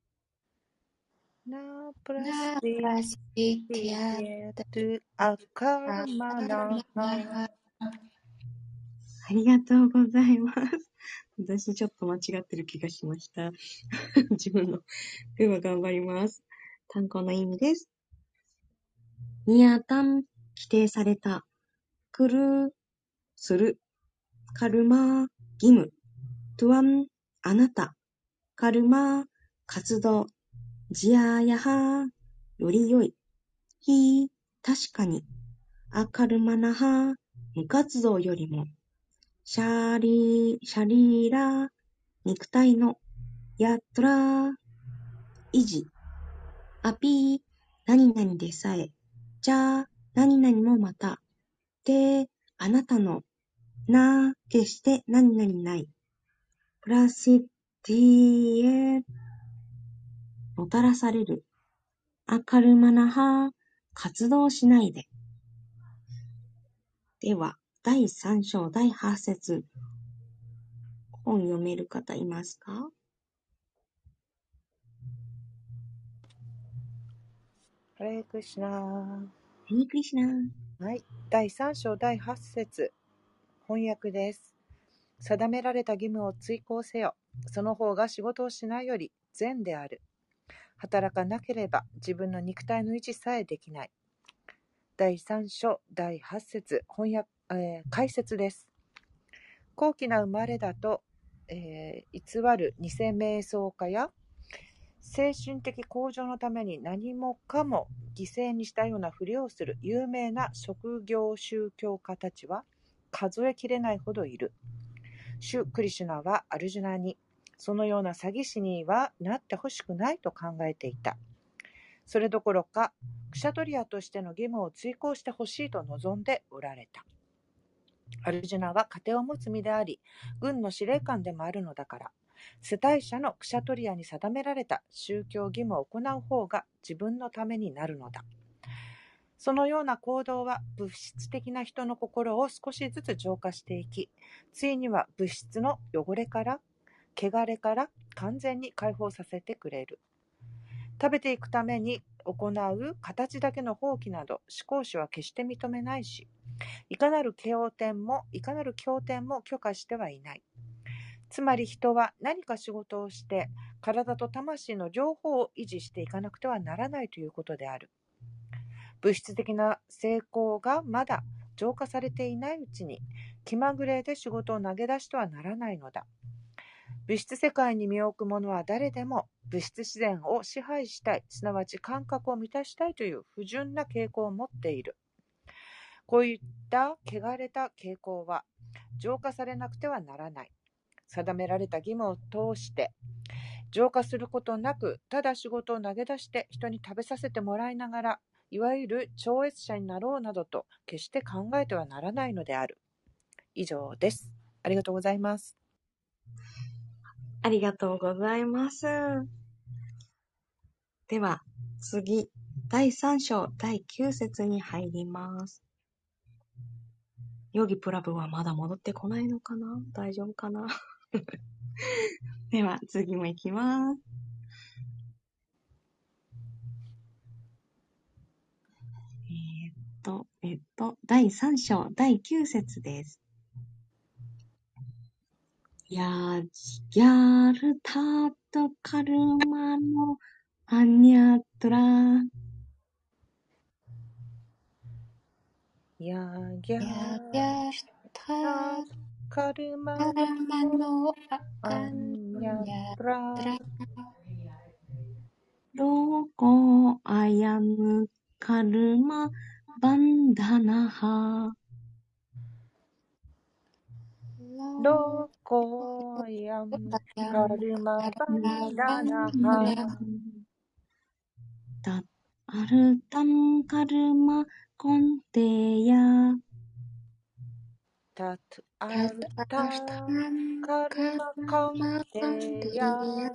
なプラスナプテラスティィアエトゥアカルアマカルナハ。 マナありがとうございます。私ちょっと間違ってる気がしました。自分の。では頑張ります。単語の意味です。ニアタン、規定された。クル、する。カルマ、義務。トゥアン、あなた。カルマ、活動。ジアヤハ、より良い。ヒ、確かに。アカルマナハ、無活動よりも。シャリ、シャリーラ、肉体の。ヤトラ、維持。アピー、何々でさえ。じゃあ、何々もまた。で、あなたの。な、決して何々ない。プラシティエ、もたらされる。アカルマナハ、活動しないで。では、だいさん章だいはち節。本読める方いますか？ ハレークリシナー。 ハレークリシナー。 はい。だいさん章だいはち節。翻訳です。定められた義務を遂行せよ。その方が仕事をしないより善である。働かなければ自分の肉体の維持さえできない。だいさん章だいはち節。翻訳、えー、解説です。高貴な生まれだと、えー、偽る偽瞑想家や精神的向上のために何もかも犠牲にしたようなふりをする有名な職業宗教家たちは数えきれないほどいる。シュ・クリシュナはアルジュナにそのような詐欺師にはなってほしくないと考えていた。それどころかクシャトリアとしての義務を遂行してほしいと望んでおられた。アルジュナは家庭を持つ身であり、軍の司令官でもあるのだから、世帯者のクシャトリアに定められた宗教義務を行う方が自分のためになるのだ。そのような行動は物質的な人の心を少しずつ浄化していき、ついには物質の汚れから、汚れから完全に解放させてくれる。食べていくために行う形だけの放棄など、思考主は決して認めないし、いかなる経典も、いかなる経典も許可してはいない。つまり人は何か仕事をして、体と魂の両方を維持していかなくてはならないということである。物質的な成功がまだ浄化されていないうちに気まぐれで仕事を投げ出してはならないのだ。物質世界に身を置く者は誰でも物質自然を支配したい、すなわち感覚を満たしたいという不純な傾向を持っている。こういった汚れた傾向は浄化されなくてはならない。定められた義務を通して浄化することなく、ただ仕事を投げ出して人に食べさせてもらいながら、いわゆる超越者になろうなどと決して考えてはならないのである。以上です。ありがとうございます。 ありがとうございます。では、次、だいさん章だいきゅう節に入ります。ヨギプラブはまだ戻ってこないのかな？大丈夫かな？では、次も行きます。えーっと、えっと、だいさん章だいきゅう節です。やギャルタートカルマのアニャトラ。 やぎゃやぎゃたーカルマたらまのあアんンヤやトラらロコアヤムカルマバンダナハ。 ロコヤムカルマバンダナハタアルタンカルマコンテヤ。 タトアたルたタたんカルかマコンまかんテでヤや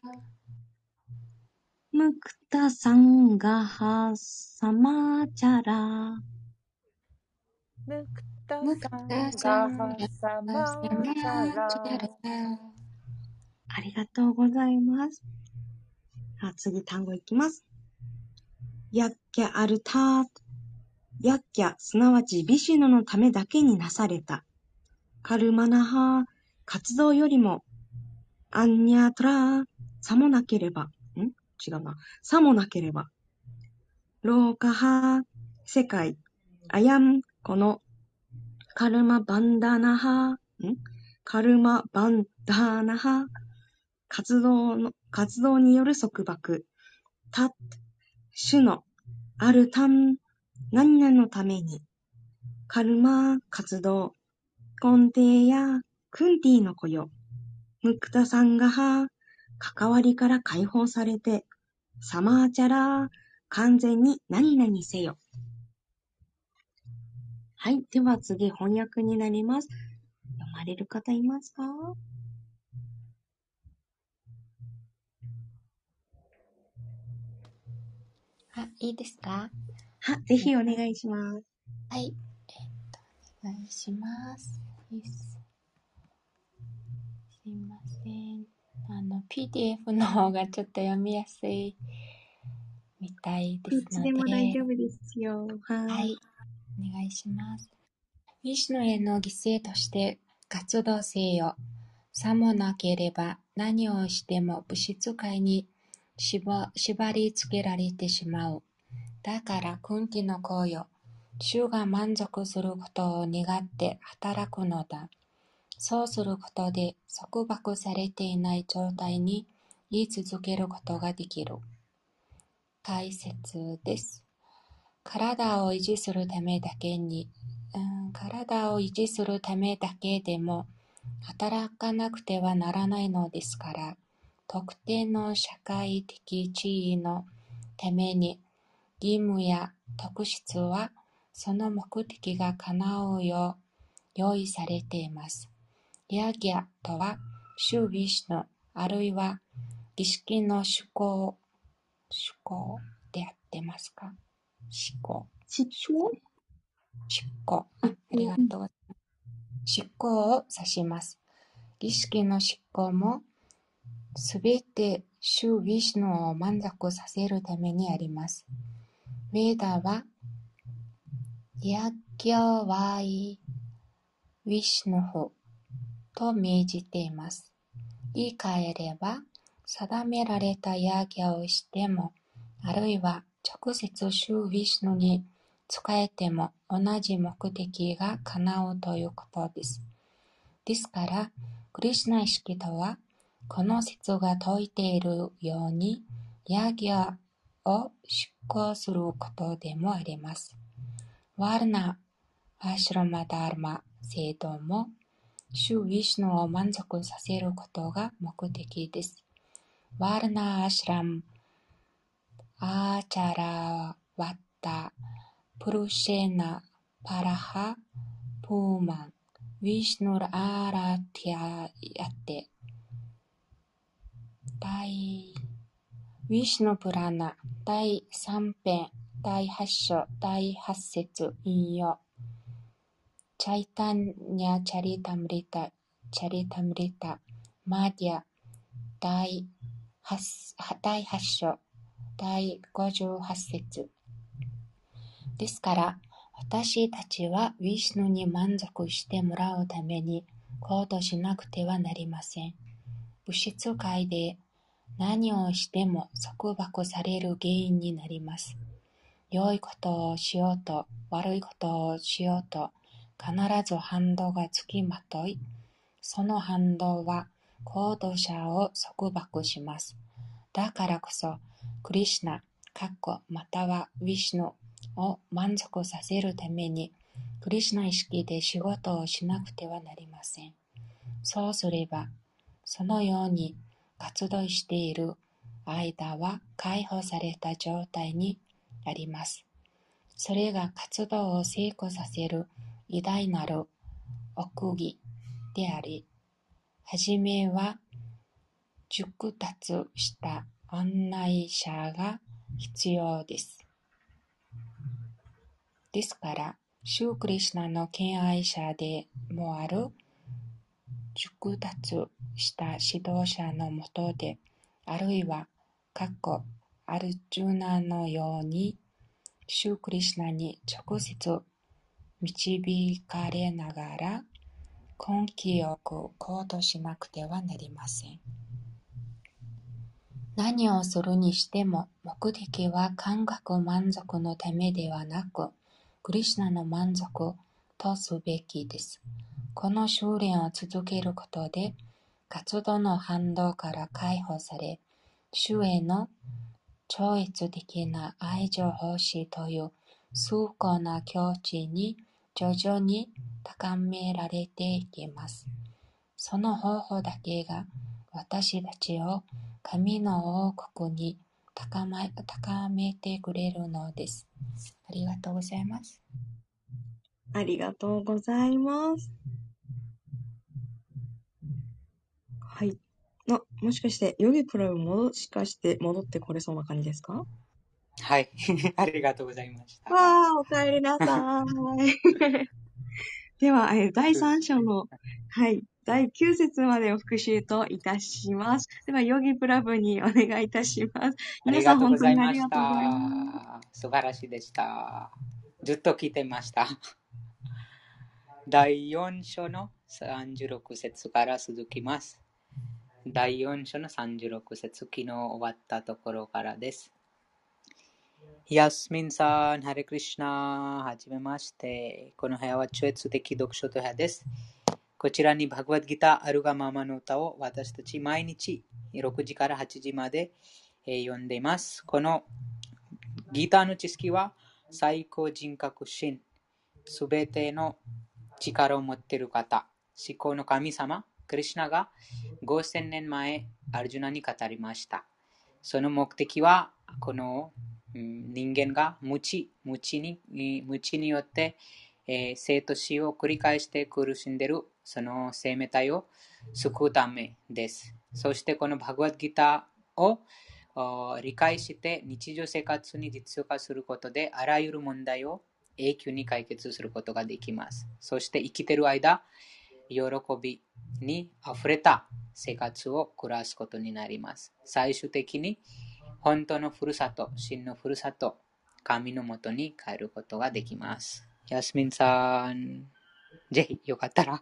ムクタサンガハサマチャラ。 ムクタむくサたンガさんがハサさマまチャラ。 ちゃらありがとうございます。あ、次単語いきます。ヤッキャアルタート。ヤッキャ、すなわちビシュヌのためだけになされた。カルマナハ、活動よりも、アンニャトラ、さもなければ、ん違うな。さもなければ。ローカハ、世界。アヤン、この、カルマバンダナハ、んカルマバンダナハ、活動の、活動による束縛。タ、主の、アルタン、何々のために。カルマ、活動。コンテーやクンティの雇用。ムクタサンガハ、関わりから解放されて。サマーチャラ、完全に何々せよ。はい。では次、翻訳になります。読まれる方いますか？ あ、いいですか？ は、ぜひお願いします。 はい。えっと、お願いします。です。すいません。あの、ピーディーエフ の方がちょっと読みやすいみたいでどっすのちでも大で、 丈夫ですよ。は。 はいい。お願いします。ヴィシュヌへの犠牲として活動せよ。さもなければ何をしても物質界に縛縛り付けられてしまう。だからクンティの行為を主が満足することを願って働くのだ。そうすることで束縛されていない状態に言い続けることができる。解説です。体を維持するためだけに、うん、体を維持するためだけでも働かなくてはならないのですから、特定の社会的地位のために義務や特質はその目的が叶うよう用意されています。ヤギャとは、主ヴィシュヌ、あるいは儀式の趣向、趣向であってますか？思考。 執行？ 執行。あ、ありがとうございます。執行を指します。儀式の執行も、すべて主ヴィシュヌを満足させるためにあります。ヴェーダは、ヤギャワイヴィシュヌフと命じています。言い換えれば、定められたヤギャをしても、あるいは直接主ヴィシュヌに使えても同じ目的が叶うということです。ですから、クリシュナ意識とは、この説が説いているように、ヤギャを執行することでもあります。ワールナ・アシュラマ・ダーマ制度も、主ウィシュヌを満足させることが目的です。ワールナ・アシュラム・アーチャラ・ワッタ・プルシェナ・パラハ・プーマン・ウィシュヌ・アーラティアヤテ第ウィシュヌプラナ第三編第八章第八節引用チャイタンニャチャリタムリタチャリタムリタマディア第八第八章第五十八節ですから、私たちはウィシュヌに満足してもらうために行動しなくてはなりません。物質界で何をしても束縛される原因になります。良いことをしようと悪いことをしようと必ず反動がつきまとい、その反動は行動者を束縛します。だからこそ、クリシュナ、またはウィシュヌを満足させるために、クリシュナ意識で仕事をしなくてはなりません。そうすれば、そのように活動している間は解放された状態にあります。それが活動を成功させる偉大なる奥義であり、はじめは熟達した案内者が必要です。ですから、シュークリシュナの敬愛者でもある熟達した指導者のもとで、あるいは、アルジュナのように、シュークリシュナに直接導かれながら、根気よく行動しなくてはなりません。何をするにしても、目的は感覚満足のためではなく、クリシュナの満足とすべきです。この修練を続けることで、活動の反動から解放され、主への超越的な愛情奉仕という崇高な境地に徐々に高められていきます。その方法だけが私たちを神の王国に高め、高めてくれるのです。ありがとうございます。 ありがとうございます。はい。あ、もしかして、ヨギプラブもしかして戻ってこれそうな感じですか？ はい。ありがとうございました。 わー、お帰りなさい。では、えーだいさん章の、はい、だいきゅう節までを復習といたします。では、ヨギプラブにお願いいたします。 あ皆さん、 りがとう本当にあございましりがとうございます。 た。素晴らしいでした。ずっと聞いてました。だいよん章のさんじゅうろく節から続きます。だいよん章のさんじゅうろく節、昨日終わったところからです。ヤスミンさん、ハレクリシュナ、はじめまして。この部屋は超越的読書と部屋です。こちらにバグワッドギターあるがままの歌を私たち毎日ろくじからはちじまで読んでいます。このギターの知識は最高人格心、すべての力を持っている方、思考の神様、クリシュナがごせんねんまえアルジュナに語りました。その目的はこの人間が無知、無知に、無知によって、えー、生と死を繰り返して苦しんでいるその生命体を救うためです。そしてこのバグワッドギターを理解して日常生活に実用化することであらゆる問題を永久に解決することができます。そして生きている間、喜びにあふれた生活を暮らすことになります。最終的に本当のふるさと、真のふるさと、神のもとに帰ることができます。ヤスミンさん、ぜひよかったら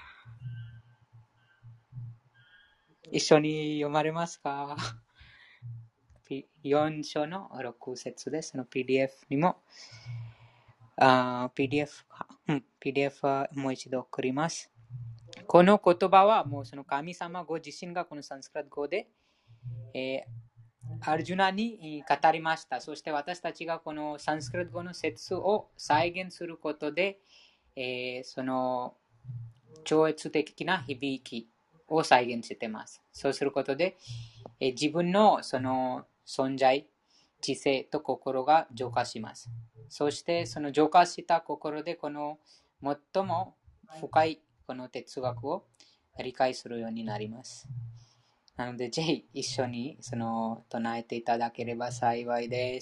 一緒に読まれますか？よん章のろく節です。の ピーディーエフ にもあ ピーディーエフ か、うん、ピーディーエフ はもう一度送ります。この言葉はもうその神様ご自身がこのサンスクリット語で、えー、アルジュナに語りました。そして私たちがこのサンスクリット語の説を再現することで、えー、その超越的な響きを再現しています。そうすることで、えー、自分のその存在、知性と心が浄化します。そしてその浄化した心でこの最も深いこの哲学を理解するようになります。なので、ぜひ一緒にその唱えていただければ幸いです。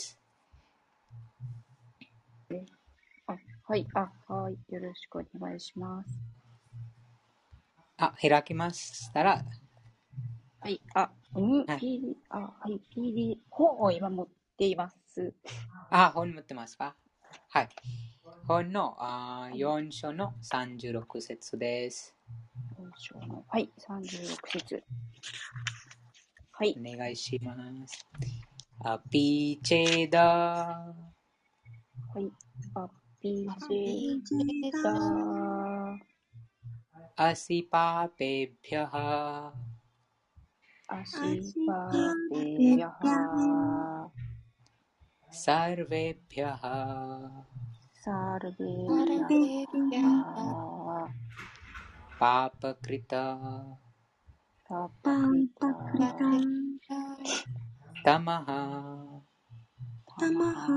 あ、はい、あ、はい、よろしくお願いします。 あ、開きましたら、 はい、あ、うん、 はい、 ピーディー、あ、はい、ピーディー、本を今持っています。 あ、本持ってますか？はい。本のはい、 よん章のさんじゅうろく節です。 よん章の、はい、さんじゅうろく節。はい。 お願いします。アピーチェダはい、アピーチェダー、 アシパペビャハアシパペヤハサルベビャハサルベサルヤベーピャーハパパクリタパパクリタパクリタタマハタマハ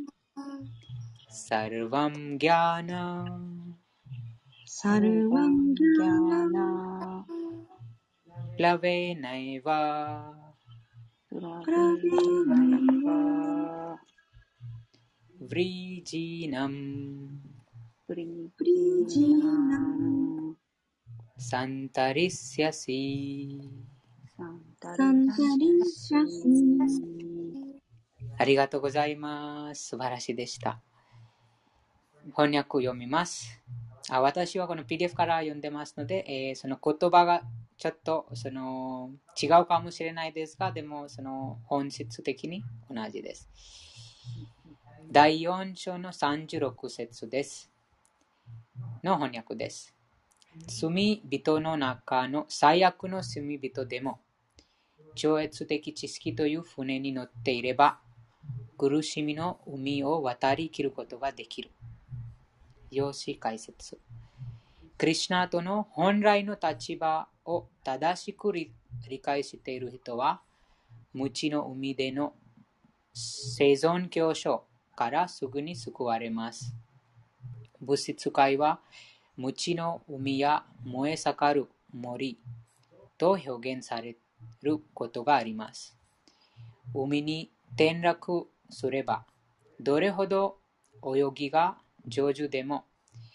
サルヴァムギャーナサルバンギャナラベナイワプラベナイバヴリジーナムプリジナンサンタリスヤシサンタサンタリリシャシス。 ありがとうございます。素晴らしいでした。翻訳を読みます。あ私はこの ピーディーエフ から読んでますので、えー、その言葉がちょっとその違うかもしれないですが、でもその本質的に同じです。だいよん章のさんじゅうろく節です。の翻訳です。罪人の中の最悪の罪人でも、超越的知識という船に乗っていれば、苦しみの海を渡り切ることができる。用紙解説。クリシュナとの本来の立場を正しく理解している人は、無知の海での生存競争からすぐに救われます。物質界は、無知の海や燃え盛る森と表現されることがあります。海に転落すれば、どれほど泳ぎが上手でも、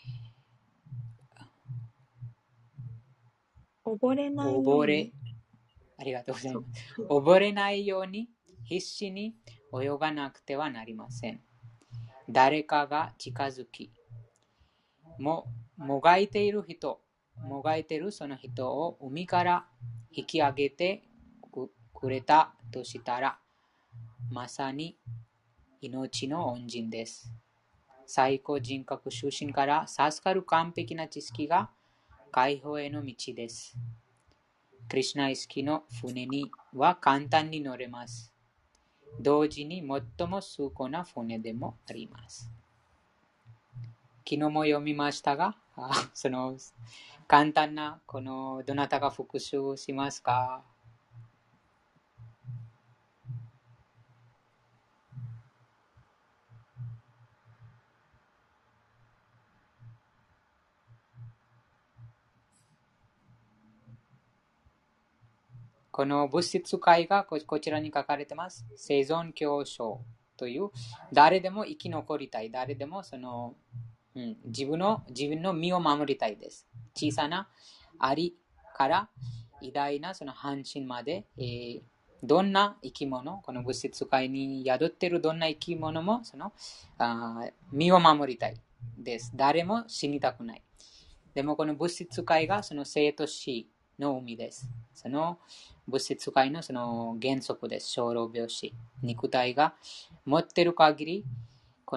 溺れないよう溺れに。 ありがとうございます。溺れないように必死に泳がなくてはなりません。誰かが近づき、も、もがいている人、もがいているその人を海から引き上げてくれたとしたら、まさに命の恩人です。最高人格出身から授かる完璧な知識が解放への道です。クリシュナ意識の船には簡単に乗れます。同時に最も崇高な船でもあります。昨日も読みましたが、その簡単なこのどなたが復習しますか？この物質界がこちらに書かれています。生存競争という、誰でも生き残りたい、誰でもその、うん、自分の自分の身を守りたいです。小さなアリから偉大なその半身まで、えー、どんな生き物、この物質界に宿っているどんな生き物もそのあ身を守りたいです。誰も死にたくない。でもこの物質界がその生と死の海です。その物質界のその原則です。生老病死。肉体が持っている限り、この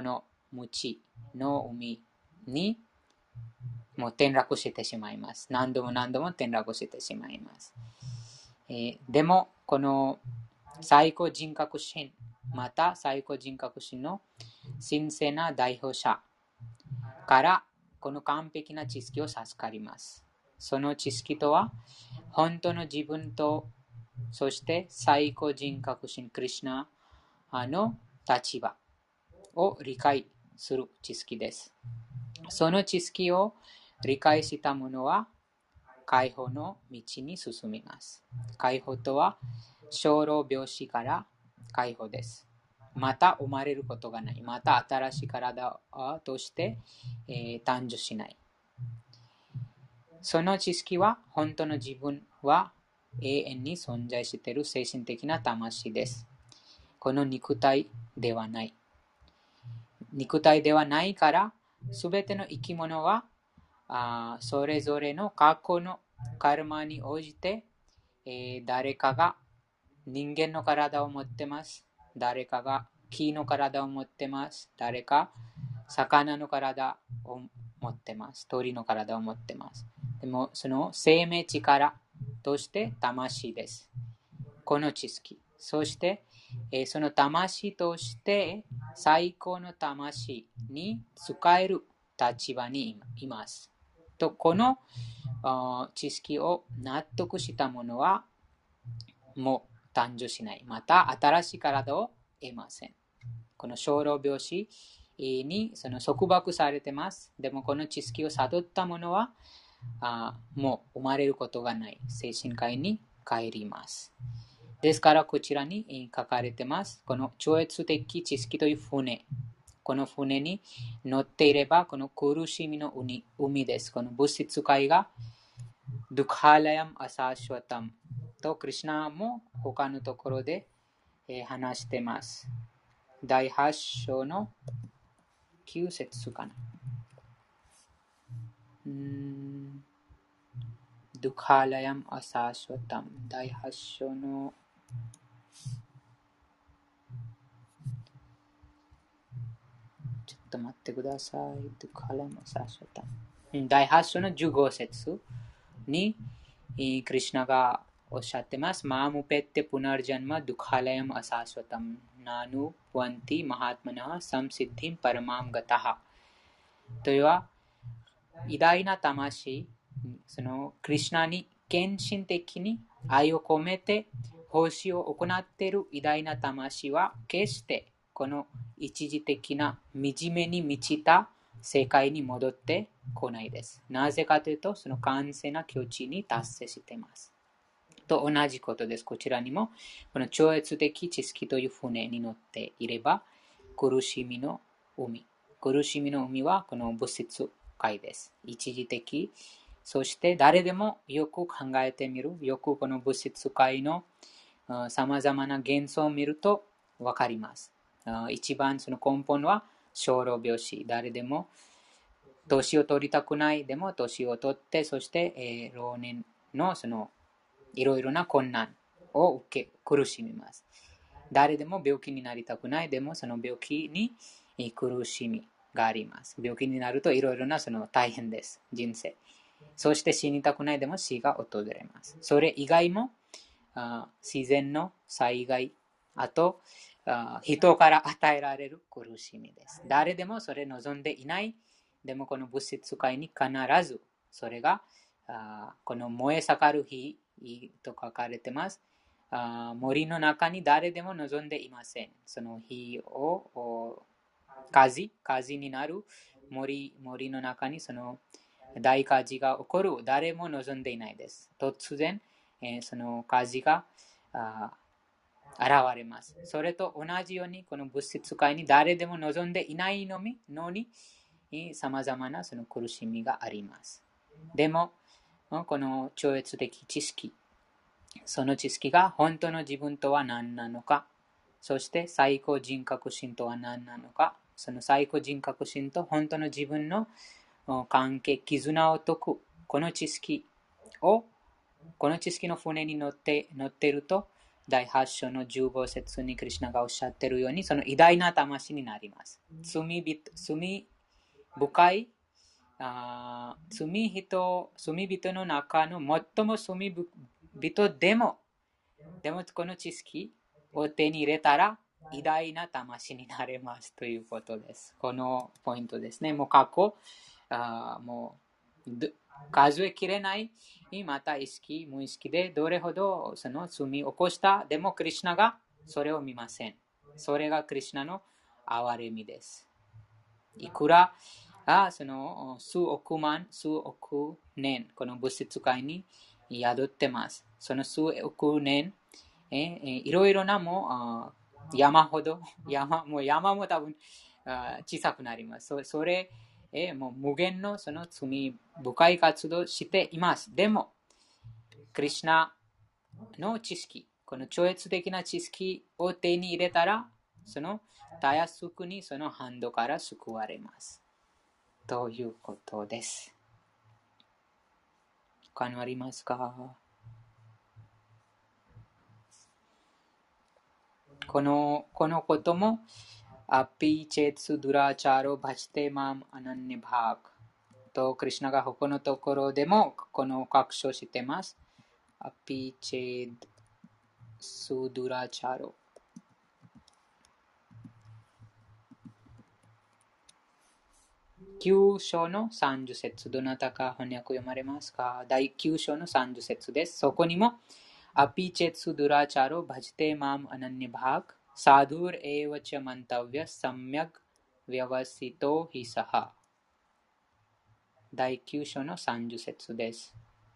無知の海にもう転落してしまいます。何度も何度も転落してしまいます。えー、でも、この最高人格心、また最高人格心の神聖な代表者からこの完璧な知識を授かります。その知識とは、本当の自分と、そして最高人格心クリシュナの立場を理解する知識です。その知識を理解した者は解放の道に進みます。解放とは生老病死から解放です。また生まれることがない。また新しい体として、えー、誕生しない。その知識は本当の自分は永遠に存在している精神的な魂です。この肉体ではない。肉体ではないから、すべての生き物はあそれぞれの過去のカルマに応じて、えー、誰かが人間の体を持ってます。誰かが木の体を持ってます。誰か魚の体を持ってます。鳥の体を持ってます。でもその生命力として魂です。この知識。そして、えー、その魂として最高の魂に使える立場にいます。とこの知識を納得した者はもう誕生しない。また新しい体を得ません。この生老病死にその束縛されています。でもこの知識を悟った者はあもう生まれることがない。精神界に帰ります。ですからこちらに書かれています。この超越的知識という船。この船に乗っていれば、この苦しみの海です。この物質界がドゥカーラヤムアサーシュワタムとクリシュナも他のところで話しています。だいはち章のきゅう節かな。うーんドゥカーラヤムアサーシュワタムだいはち章のちょっと待ってください。ドゥカーラヤムアサーシュワタムだいはち章のじゅうご節にクリシュナがおっしゃってます。マームペッテプナルジャンマドゥカラヤムアサーシュワタムナヌワンティマハトマナサムシッディンパラマームガタハというは偉大な魂、そのクリシュナに献身的に愛を込めて奉仕を行っている偉大な魂は決してこの一時的な惨めに満ちた世界に戻ってこないです。なぜかというと、その完全な境地に達成しています。と同じことです。こちらにも、この超越的知識という船に乗っていれば、苦しみの海。苦しみの海はこの物質界です。一時的。そして誰でもよく考えてみる。よくこの物質界のさまざまな幻想を見るとわかります。一番その根本は生老病死。誰でも年を取りたくない。でも年を取って、そして、えー、老年のそのいろいろな困難を受け苦しみます。誰でも病気になりたくない。でもその病気に苦しみがあります。病気になるといろいろなその大変です。人生。そして死にたくない。でも死が訪れます。それ以外もあ自然の災害、あとあ人から与えられる苦しみです。誰でもそれ望んでいない。でもこの物質界に必ずそれがあこの燃え盛る火と書かれています。あ森の中に誰でも望んでいません。その火を火事、火事になる 森, 森の中にその大火事が起こる誰も望んでいないです。突然、えー、その火事があ現れます。それと同じようにこの物質界に誰でも望んでいないのにさまざまなその苦しみがあります。でもこの超越的知識、その知識が本当の自分とは何なのか、そして最高人格心とは何なのか、その最高人格心と本当の自分の関係、絆を解く、この知識を、この知識の船に乗って乗っていると、 だいはち章のじゅうご節にクリシュナがおっしゃっているように、その偉大な魂になります。罪深い、あ罪人、罪人の中の最も罪人でも、でもこの知識を手に入れたら、偉大な魂になれますということです。このポイントですね。もう過去、あもう数えきれない、また意識、無意識でどれほどその罪を起こした、でもクリシュナがそれを見ません。それがクリシュナの憐れみです。いくらあその数億万、数億年、この物質界に宿ってます。その数億年、えいろいろなもう山ほど、山もう山も多分小さくなります。そ, それえもう無限のその罪深い活動をしています。でも、クリシュナの知識、この超越的な知識を手に入れたら、そのたやすくにそのハンドから救われます。ということです。他にありますか？この、このことも、アピチェツスドゥラチャロバチテマムアナンニバークと、クリシュナが他のところでもこの確証しています。アピチェツドゥラチャロ。きゅう章のさんじゅう節、どなたか翻訳読まれますか？だいきゅう章のさんじゅう節です。そこにも、アピチェツドゥラチャロバジテマムアナンニバークサドゥルエワチャマンタヴィアサムヤグヴィアワシトヒサハ。だいきゅう章のさんじゅう節です。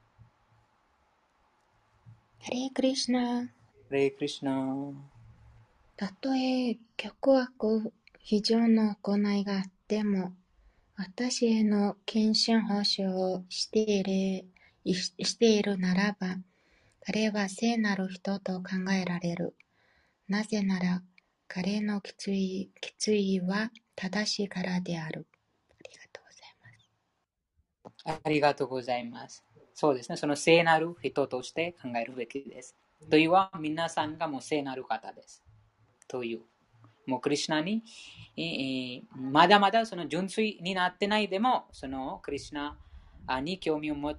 ハレークリシュナ。 ハレークリシュナ。 たとえ極悪非常の行いがあっても、私への献身奉仕をしている、しているならば、彼は聖なる人と考えられる。なぜなら、彼の決意、決意は正しいからである。 ありがとうございます。そうですね。その聖なる人として考えるべきです。というのは、皆さんがもう聖なる方です。という。もうクリシュナに、えー、まだまだその純粋になってないでも、そのクリシュナに興味を持って、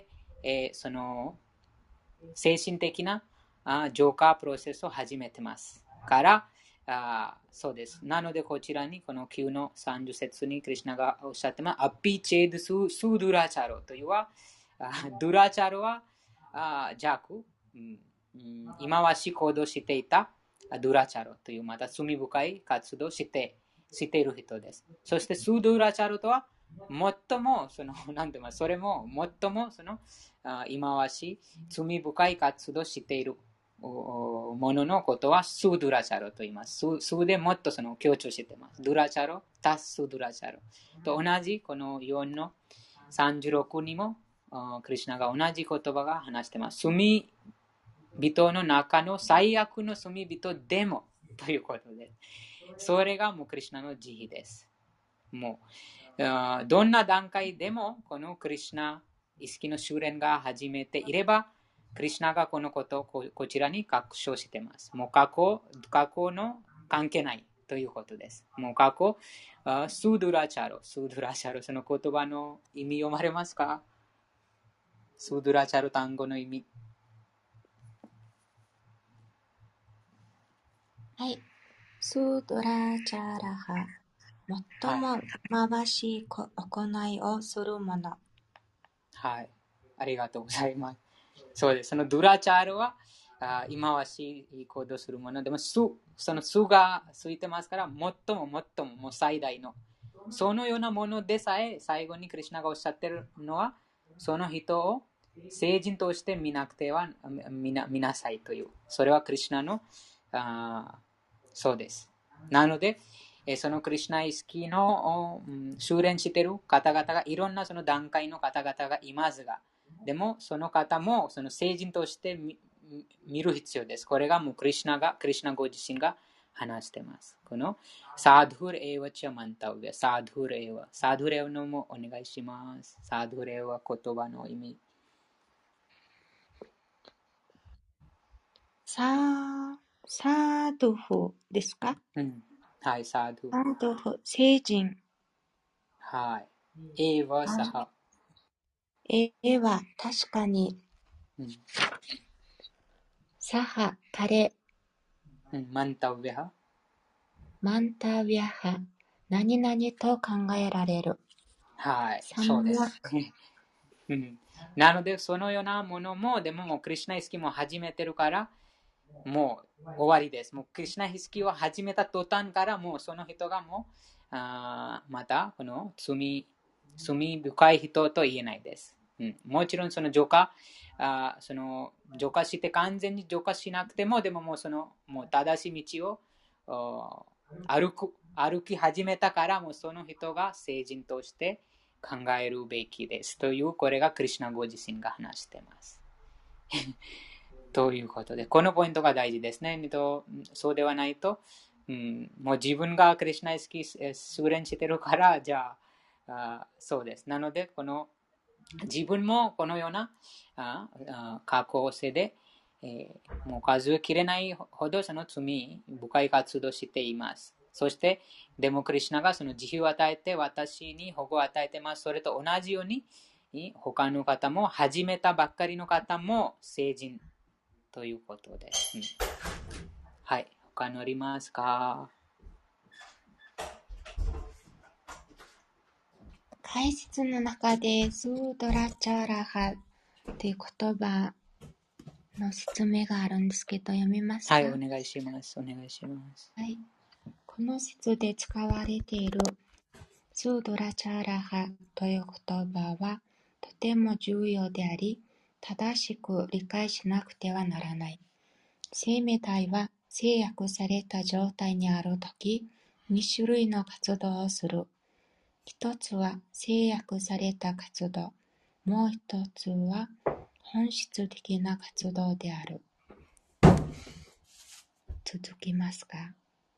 えー、その精神的なあ浄化プロセスを始めてますから、あそうです。なので、こちらにこのきゅうのさんじゅう節にクリシュナがおっしゃってます。アピチェドスードゥラチャロというは、ドゥラチャロは邪悪、うん、忌まわしい行動していたドゥラチャロというまた罪深い活動をしてしている人です。そしてスードゥラチャロとは最もその何て言います、それも最もその忌まわしい罪深い活動をしているもののことはスードゥラチャロと言います。スーでもっとその強調しています。ドゥラチャロ、タススードゥラチャロと同じこのよんのさんじゅうろくにもクリシュナが同じ言葉が話しています。罪人の中の最悪の罪人でもということです。それがもうクリシュナの慈悲です。もうどんな段階でもこのクリシュナ意識の修練が始めていれば、クリシュナがこのことを こ, こちらに確証しています。もう過去、過去の関係ないということです。もう過去、スードゥラチャロ、スードゥラチャロ、その言葉の意味読まれますか？スードゥラチャロ単語の意味。 はい。スードラチャラハ。最も回しい行いをするもの。 はい。ありがとうございます。そうです。そのドゥラチャールは、忌まわしい行動するものでも、その巣がついてますから、最も最ももう最大の。そのようなものでさえ、最後にクリシュナがおっしゃってるのは、その人を聖人として見なくては見 な, 見なさいという。それはクリシュナのあそうです。なので、そのクリシュナ意識の修練している方々がいろんなその段階の方々がいますが、でもその方もその聖人として見る必要です。これがもうクリシュナが、クリシュナご自身が話しています。このサドゥルエワチャマンタウベ、サドゥルエワ、サドゥルエワのもお願いします。サドゥルエワ言葉の意味。 ササードフですか？ うん。はい、サードゥ。 サードフ、聖人。 はい。エーはサあ、 ハ。 えは確かに、 うん。 サハ、彼、 うん。マンタウベハ。 マンタビャハ、何々と考えられる。 はい。 サそうでムヤす。うん。なので、そのようなものも、でももうクリシュナ意識も始めてるから、もう終わりです。もうクリシュナ意識を始めた途端から、もうその人がもう、あまたこの罪、罪深い人と言えないです。うん、もちろんその浄化、あその浄化して完全に浄化しなくても、でももうそのもう正しい道を歩く、歩き始めたから、もうその人が聖人として考えるべきですという、これがクリシュナご自身が話しています。ということで、このポイントが大事ですね。そうではないと、うん、もう自分がクリシュナ意識優れしてるから、じゃあ、あそうです。なので、この自分もこのようなああ過去世で、えー、もう数えきれないほどその罪深い活動をしています。そして、でもクリシュナがその自由を与えて私に保護を与えてます。それと同じように、他の方も始めたばっかりの方も成人ということです。うん、はい。他にありますか？ 解説の中でスードラチャラハという言葉の説明があるんですけど、読みますか？ はい、お願いします。お願いします。 はい。この説で使われているスードラチャラハという言葉はとても重要であり、正しく理解しなくてはならない。生命体は制約された状態にあるとき、に種類の活動をする。一つは制約された活動、もう一つは本質的な活動である。続きますか？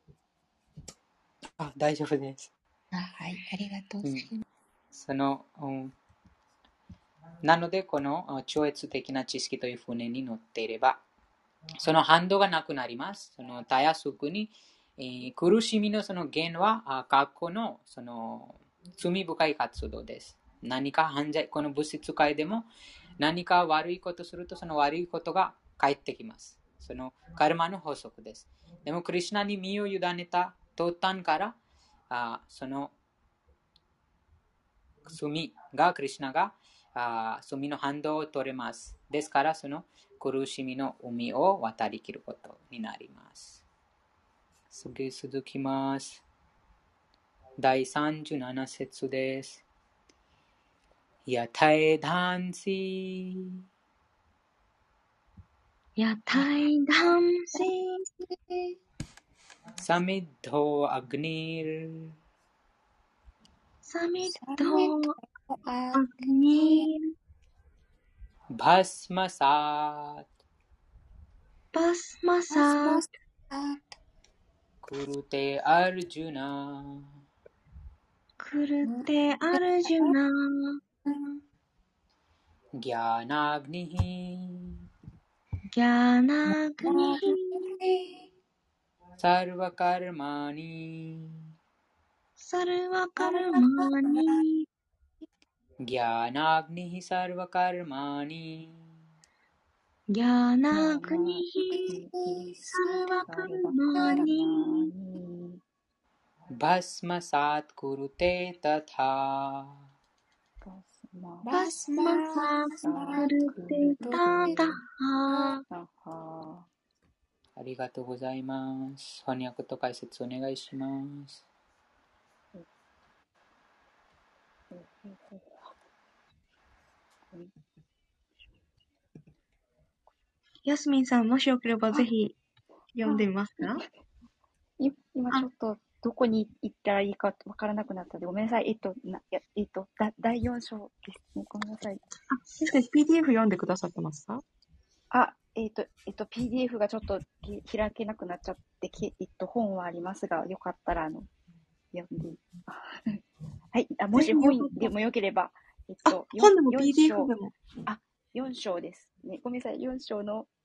あ、大丈夫です。 あ、はい、ありがとうございます。うん、 その、うん、なので、この超越的な知識という船に乗っていれば、その反動がなくなります。そのたやすくに、えー、苦しみのその原は、過去のその罪深い活動です。何か犯罪、この物質界でも何か悪いことすると、その悪いことが返ってきます。そのカルマの法則です。でも、クリシュナに身を委ねた途端から、あその罪が、クリシュナがあ罪の反動を取れます。ですから、その苦しみの海を渡りきることになります。次続きます。だいさんじゅうなな節です。やたえだんしやたいだんしサミッドアグニルサミッサドメとアアググニニーバスマサーバスマバスサーマスタクルテアルジュナクルテアルジュナギャナアグニヒギャナグニヒサルバカルマニサルワカルマニギャナアグニヒサルバカルマニギャナグニヒサルワカルマニバスマサークルテタタバスマサクルテタタハありがとうございます。翻訳と解説お願いします。 ヤスミンさん、もしよければぜひ読んでみますか？ 今ちょっとどこに行ったらいいかわからなくなったので、ごめんなさい。えっと、なやえっと、だだいよん章ですね。ごめんなさい。 あ、先生、ピーディーエフ 読んでくださってますか？ あ、えっと、えっと、ピーディーエフ がちょっと開けなくなっちゃって、えっと、本はありますが、よかったら、あの、読んで。はい。あ、もし本でもよければ、えっと、 本でも ピーディーエフ でも。 あ、よん章ですね。ごめんなさい。よん章の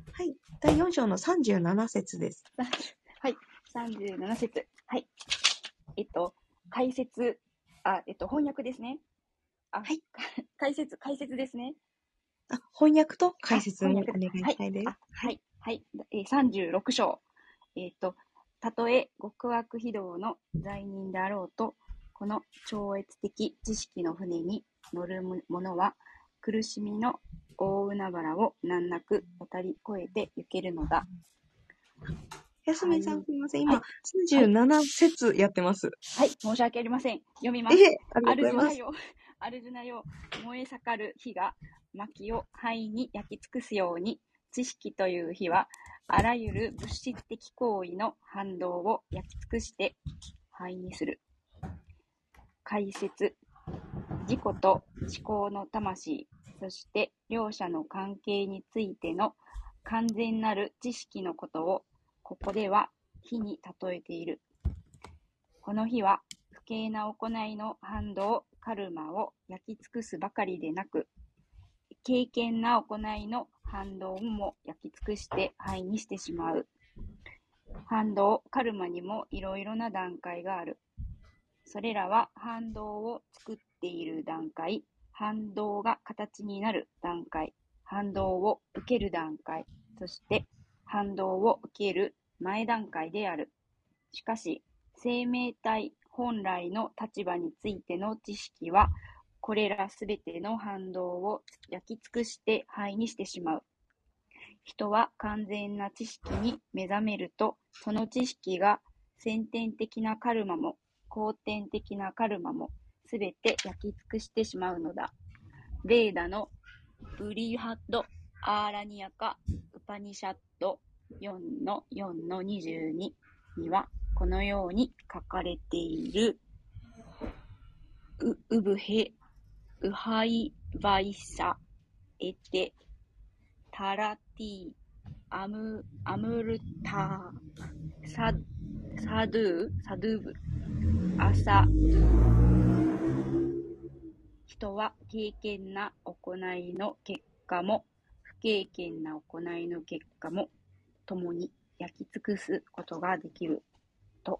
はい。だいよん章のさんじゅうなな節です。 はい。さんじゅうなな節。はい。えっと、解説、あ、えっと、翻訳ですね。あ、 はい。 解説、解説ですね。 あ、翻訳と解あ、 説もお翻訳だ。 願いはい。 したいです。 あ、はい。はい。えー、さんじゅうろく章。えっと、たとえ極悪非道の罪人であろうと、この超越的知識の船に乗る者は、苦しみの大海原を難なく渡り越えて行けるのだ。 安はい。 目さんすみません。今、 はい。 さんじゅうなな節やってます。 はい。申し訳ありません。読みます。 ええ、ありがアとうございます。 ルジュナよ、アルジュナよ、燃え盛る火が薪を灰に焼き尽くすように、知識という火は、あらゆる物質的行為の反動を焼き尽くして灰にする。解説。自己と思考の魂、そして両者の関係についての完全なる知識のことを、ここでは火に例えている。この火は、不敬な行いの反動、カルマを焼き尽くすばかりでなく、敬虔な行いの反動も焼き尽くして灰にしてしまう。反動、カルマにもいろいろな段階がある。それらは反動を作っている段階、反動が形になる段階、反動を受ける段階、そして反動を受ける前段階である。しかし、生命体本来の立場についての知識は、これらすべての反動を焼き尽くして灰にしてしまう。人は完全な知識に目覚めると、その知識が先天的なカルマも後天的なカルマもすべて焼き尽くしてしまうのだ。ベーダのブリハッド・アーラニアカ・ウパニシャッド よんのよんのにじゅうに にはこのように書かれている。ウウブヘウハイバイサエテタラティアムアムルタササドゥサドゥブアサドゥ。人は敬虔な行いの結果も不敬虔な行いの結果も共に焼き尽くすことができると。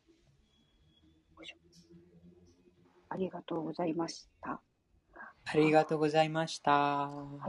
ありがとうございました。 ありがとうございました。 はい。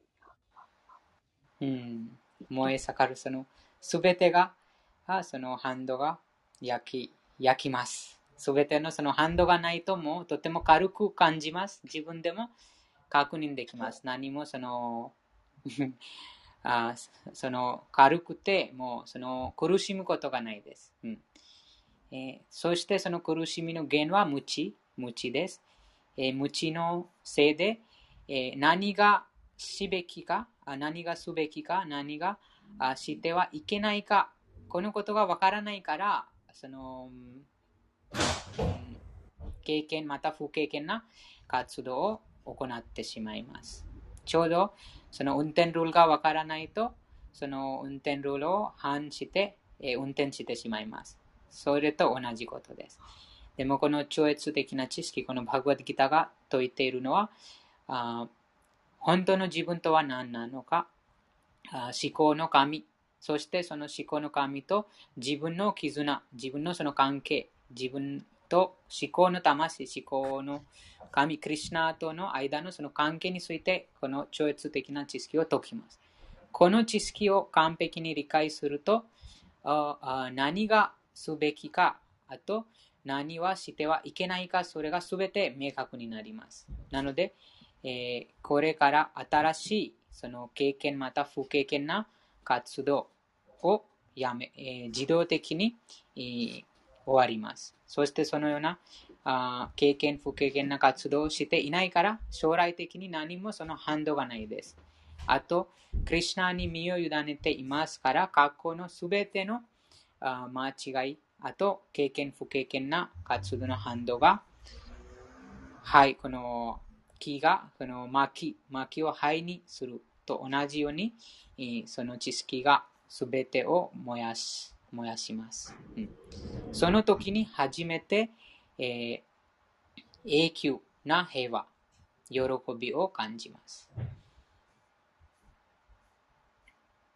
うん、燃え盛るそのすべてが、そのハンドが焼き、焼きます。すべてのそのハンドがないともうとても軽く感じます。自分でも確認できます。何もそのあその軽くてもうその苦しむことがないです。うんえー、そしてその苦しみの原因は無知、無知です。えー、無知のせいで、えー、何がしべきか、何がすべきか、何がしてはいけないか、このことがわからないから、その、うん、経験また不経験な活動を行ってしまいます。ちょうどその運転ルールがわからないと、その運転ルールを反して、えー、運転してしまいます。それと同じことです。でもこの超越的な知識、このバグワッドギターが説いているのは、あ本当の自分とは何なのか、あ思考の神、そしてその思考の神と自分の絆、自分のその関係、自分と思考の魂、思考の神、クリシュナとの間のその関係について、この超越的な知識を解きます。この知識を完璧に理解すると、あ何がすべきか、あと何はしてはいけないか、それがすべて明確になります。なので、えー、これから新しいその経験また不経験な活動をやめ、えー、自動的に、えー、終わります。そしてそのようなあ経験不経験な活動をしていないから将来的に何もその反動がないです。あと、クリシュナに身を委ねていますから、過去のすべてのあ間違い、あと経験不経験な活動の反動が、はい、この木がこの薪、薪を灰にすると同じように、その知識がすべてを燃やし、燃やします。うん、その時に初めて、えー、永久な平和、喜びを感じます。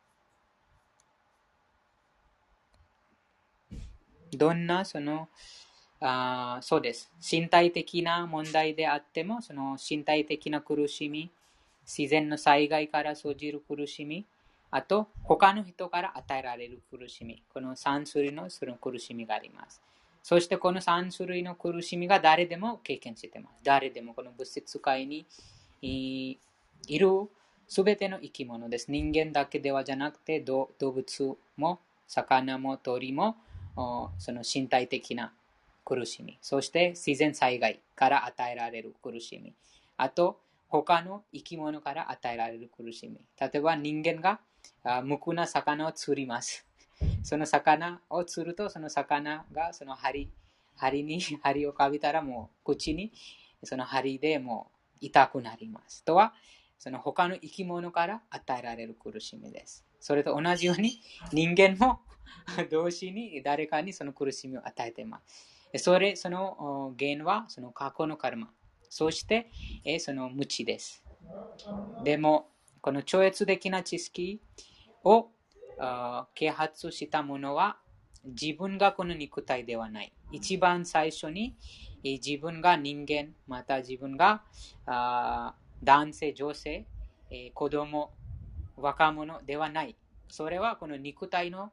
どんなそのあそうです。身体的な問題であっても、その身体的な苦しみ、自然の災害から生じる苦しみ、あと他の人から与えられる苦しみ、このさん種類のその苦しみがあります。そしてこのさん種類の苦しみが誰でも経験しています。誰でもこの物質界にいるすべての生き物です。人間だけではじゃなくて、動物も魚も鳥もその身体的な苦しみ、そして自然災害から与えられる苦しみ、あと他の生き物から与えられる苦しみ。例えば人間が無垢な魚を釣ります。その魚を釣ると、その魚がその針、針に針をかびたらもう口にその針でもう痛くなります。とは、その他の生き物から与えられる苦しみです。それと同じように人間も同時に誰かにその苦しみを与えています。それ、その原因はその過去のカルマ。そして、その無知です。でも、この超越的な知識を啓発したものは、自分がこの肉体ではない。一番最初に、自分が人間、また自分が男性、女性、子供、若者ではない。それはこの肉体の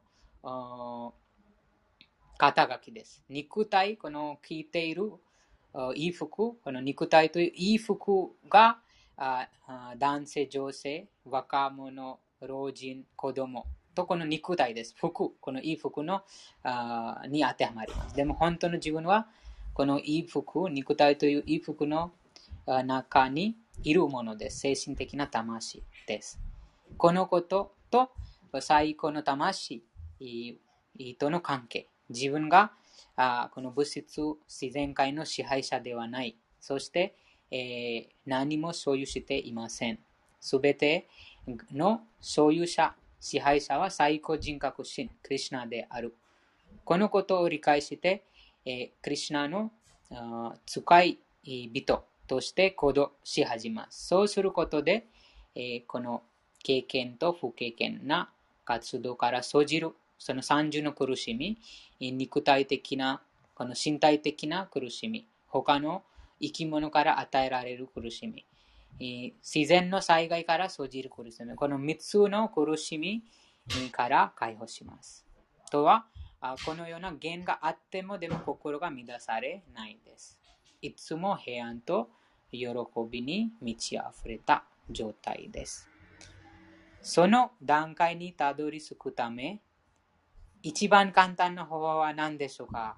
肩書きです。肉体、この着ている衣服、この肉体という衣服が男性、女性、若者、老人、子供とこの肉体です。服、この衣服のに当てはまります。でも本当の自分はこの衣服、肉体という衣服の中にいるものです。精神的な魂です。このことと最高の魂との関係。自分があこの物質、自然界の支配者ではない。そして、えー、何も所有していません。すべての所有者、支配者は最高人格神、クリシュナである。このことを理解して、えー、クリシュナの使い人として行動し始めます。そうすることで、えー、この経験と不経験な活動から生じるその三重の苦しみ、肉体的な、この身体的な苦しみ、他の生き物から与えられる苦しみ、自然の災害から生じる苦しみ、この三つの苦しみから解放します。とは、このような原因があってもでも心が乱されないです。いつも平安と喜びに満ち溢れた状態です。その段階にたどり着くため、一番簡単な方法は何でしょうか？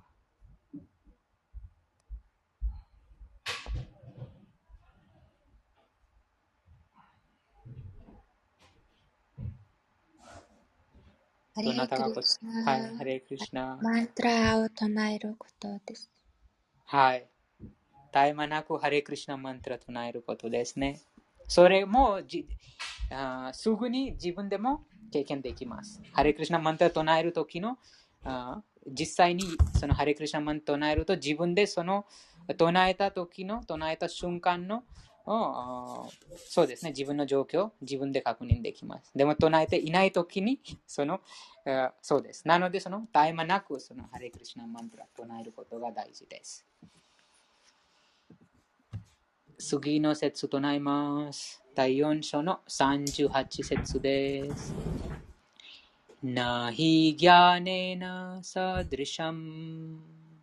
どなたが答え、はい、ハレクリシュナ。 マントラを唱えることです。 はい。絶え間なくハレクリシュナマントラを唱えることですね。それもじあすぐに自分でも経験できます。ハレクリシュナマントラを唱えるときのあ実際にそのハレクリシュナマントラを唱えると自分でその唱えた時の唱えた瞬間のそうですね、自分の状況自分で確認できます。でも唱えていない時にそのそうです。なのでその絶え間なくそのハレクリシュナマントラを唱えることが大事です。次の節となります。だいよん章のさんじゅうはち節です。ナヒギャネナサドリシャム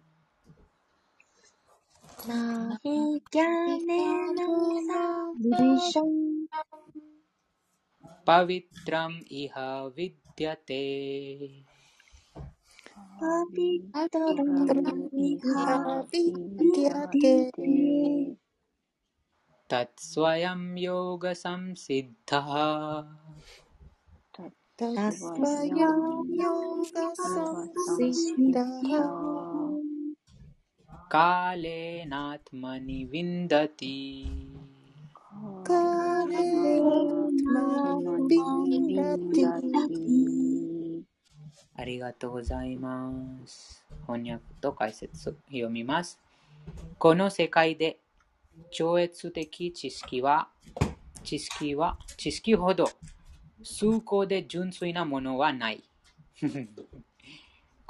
ナヒギャネナサドリシャムパビトラムイハヴィディアテパビトラムイハヴィディアテタツスワヤムヨガサムシッダタスワヤムヨガサムシッダカレナトマニヴィンダティカレナトマニヴィンダティ。 ありがとうございます。翻訳と解説読みます。この世界で超越的知識は知識は知識ほど崇高で純粋なものはない。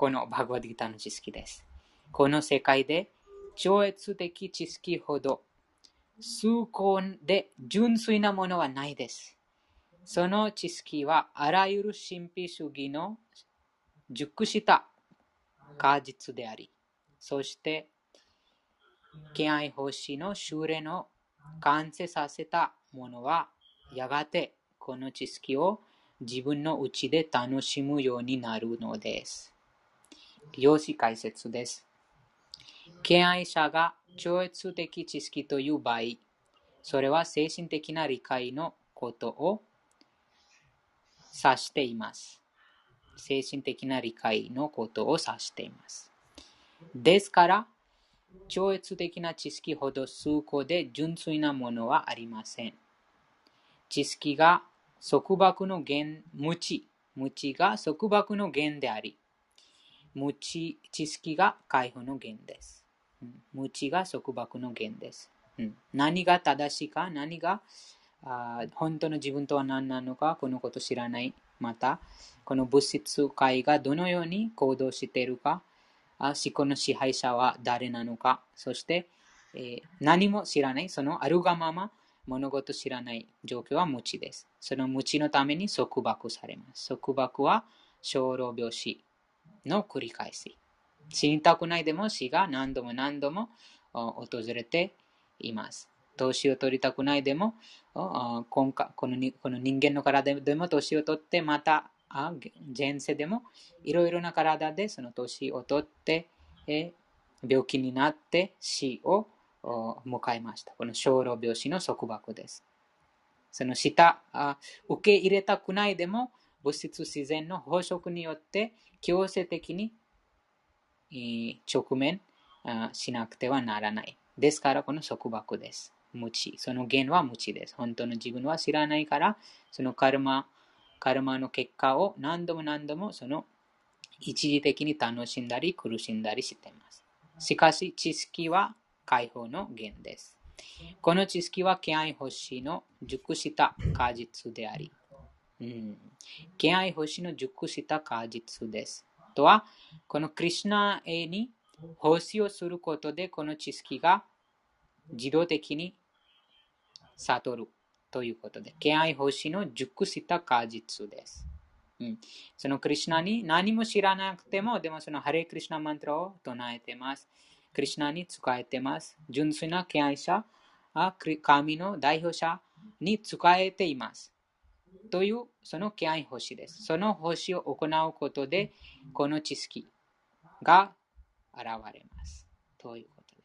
このバグワッドギターの知識です。この世界で超越的知識ほど崇高で純粋なものはないです。その知識はあらゆる神秘主義の熟した果実であり、そして敬愛奉仕の修練を完成させたものはやがてこの知識を自分のうちで楽しむようになるのです。用紙解説です。敬愛者が超越的知識という場合、それは精神的な理解のことを指しています。精神的な理解のことを指しています。ですから、超越的な知識ほど崇高で純粋なものはありません。知識が束縛の源、無知、無知が束縛の源であり、無知、知識が解放の源です。うん、無知が束縛の源です。うん、何が正しいか、何があ本当の自分とは何なのか、このこと知らない。また、この物質界がどのように行動しているか、思考の支配者は誰なのか、そして、えー、何も知らない、そのあるがまま物事知らない状況は無知です。その無知のために束縛されます。束縛は生老病死の繰り返し。死にたくないでも死が何度も何度も訪れています。年を取りたくないでも、今回このこの人間の体でも年を取ってまた前世でもいろいろな体でその年を取って、え病気になって死を迎えました。この生老病死の束縛です。その下受け入れたくないでも物質自然の法則によって強制的に直面しなくてはならない。ですからこの束縛です。無知。その源は無知です。本当の自分は知らないから、そのカルマ、カルマの結果を何度も何度もその一時的に楽しんだり苦しんだりしています。しかし知識は解放の源です。この知識は敬愛奉仕の熟した果実であり、うん、敬愛奉仕の熟した果実です。とは、このクリシュナへに奉仕をすることでこの知識が自動的に悟るということで、敬愛奉仕の熟した果実です。うん、そのクリシュナに何も知らなくても、でもそのハレクリシュナマントラを唱えてます。クリシュナに仕えてます。純粋な敬愛者、神の代表者に仕えています。というその敬愛奉仕です。その奉仕を行うことで、この知識が現れます。ということです。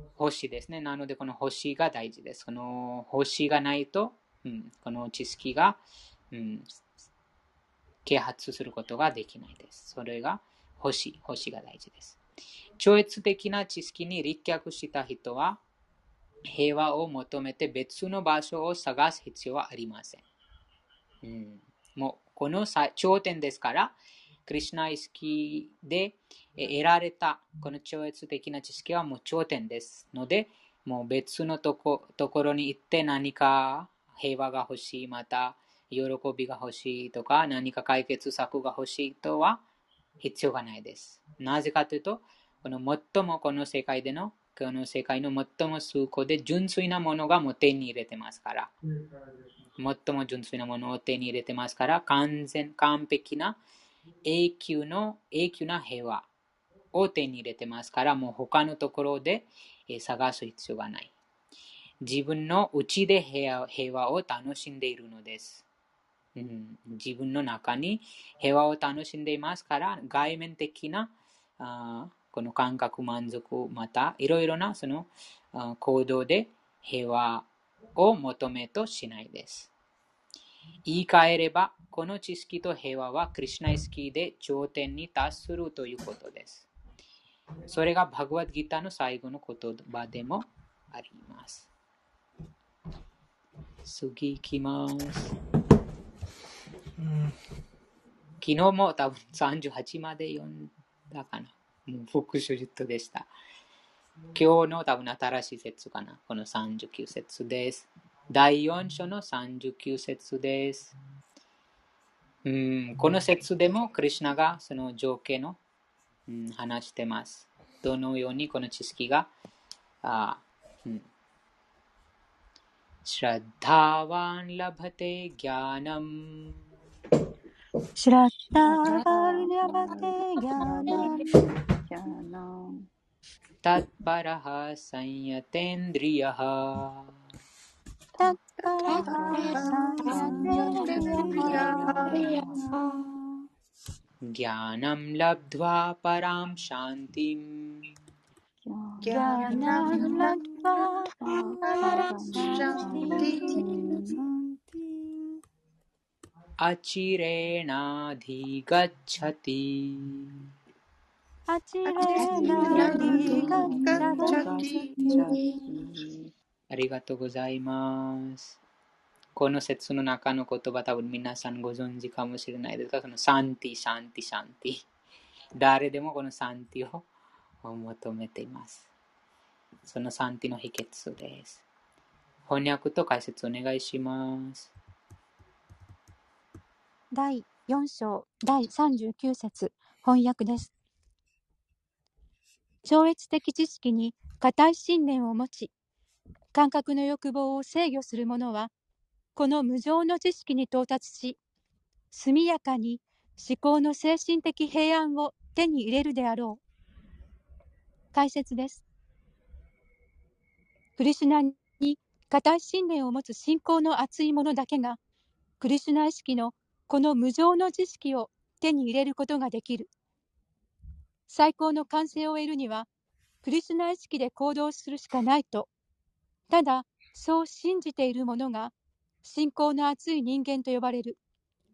奉仕ですね。なので、この奉仕が大事です。この奉仕がないと、うん、この知識が、うん、啓発することができないです。それが奉仕、奉仕が大事です。超越的な知識に立脚した人は、平和を求めて別の場所を探す必要はありません。うん、もうこの頂点ですから、クリシュナ意識で得られたこの超越的な知識はもう頂点ですので、もう別のとこ、ところに行って何か平和が欲しい、また喜びが欲しいとか、何か解決策が欲しいとは必要がないです。なぜかというと、この最もこの世界でのこの世界の最も崇高で純粋なものがもう手に入れてますから、最も純粋なものを手に入れてますから、完全完璧な永久の永久な平和を手に入れてますから、もう他のところで探す必要がない。自分の内で平和を楽しんでいるのです。うん、自分の中に平和を楽しんでいますから、外面的なあこの感覚満足、またいろいろなその行動で平和を求めとしないです。言い換えれば、この知識と平和はクリシュナ意識で頂点に達するということです。それがバグワッドギターの最後の言葉でもあります。次行きます。うん、昨日も多分さんじゅうはちまで読んだかな。もう復習術でした。今日の多分新しい節かな。このさんじゅうきゅう節です。だいよん章のさんじゅうきゅう節です。 うん、この説でもクリシュナがその情景の、うん、話してます。どのようにこの知識が、あうん、シラッダーワンラバテギャナムシュラッターバルニャバテギャナムじゃあなタッパラハサンヤテンドリヤハタッパラハサンヤテンリヤハギャナムラブドワパラムシャンティムギャナムラドバパラシャンティアチレナディガッチャティアチレナディガッチャティ。 ありがとうございます。この説の中の言葉多分皆さんご存知かもしれないですが、そのサンティ、シャンティ、シャンティ。誰でもこのサンティを求めています。そのサンティの秘訣です。翻訳と解説お願いします。 だいよん章だいさんじゅうきゅう節翻訳です。超越的知識に固い信念を持ち、感覚の欲望を制御する者は、この無常の知識に到達し、速やかに思考の精神的平安を手に入れるであろう。解説です。クリシュナに固い信念を持つ信仰の厚い者だけが、クリシュナ意識のこの無常の知識を手に入れることができる。最高の完成を得るには、クリシュナ意識で行動するしかないと、ただそう信じている者が信仰の厚い人間と呼ばれる。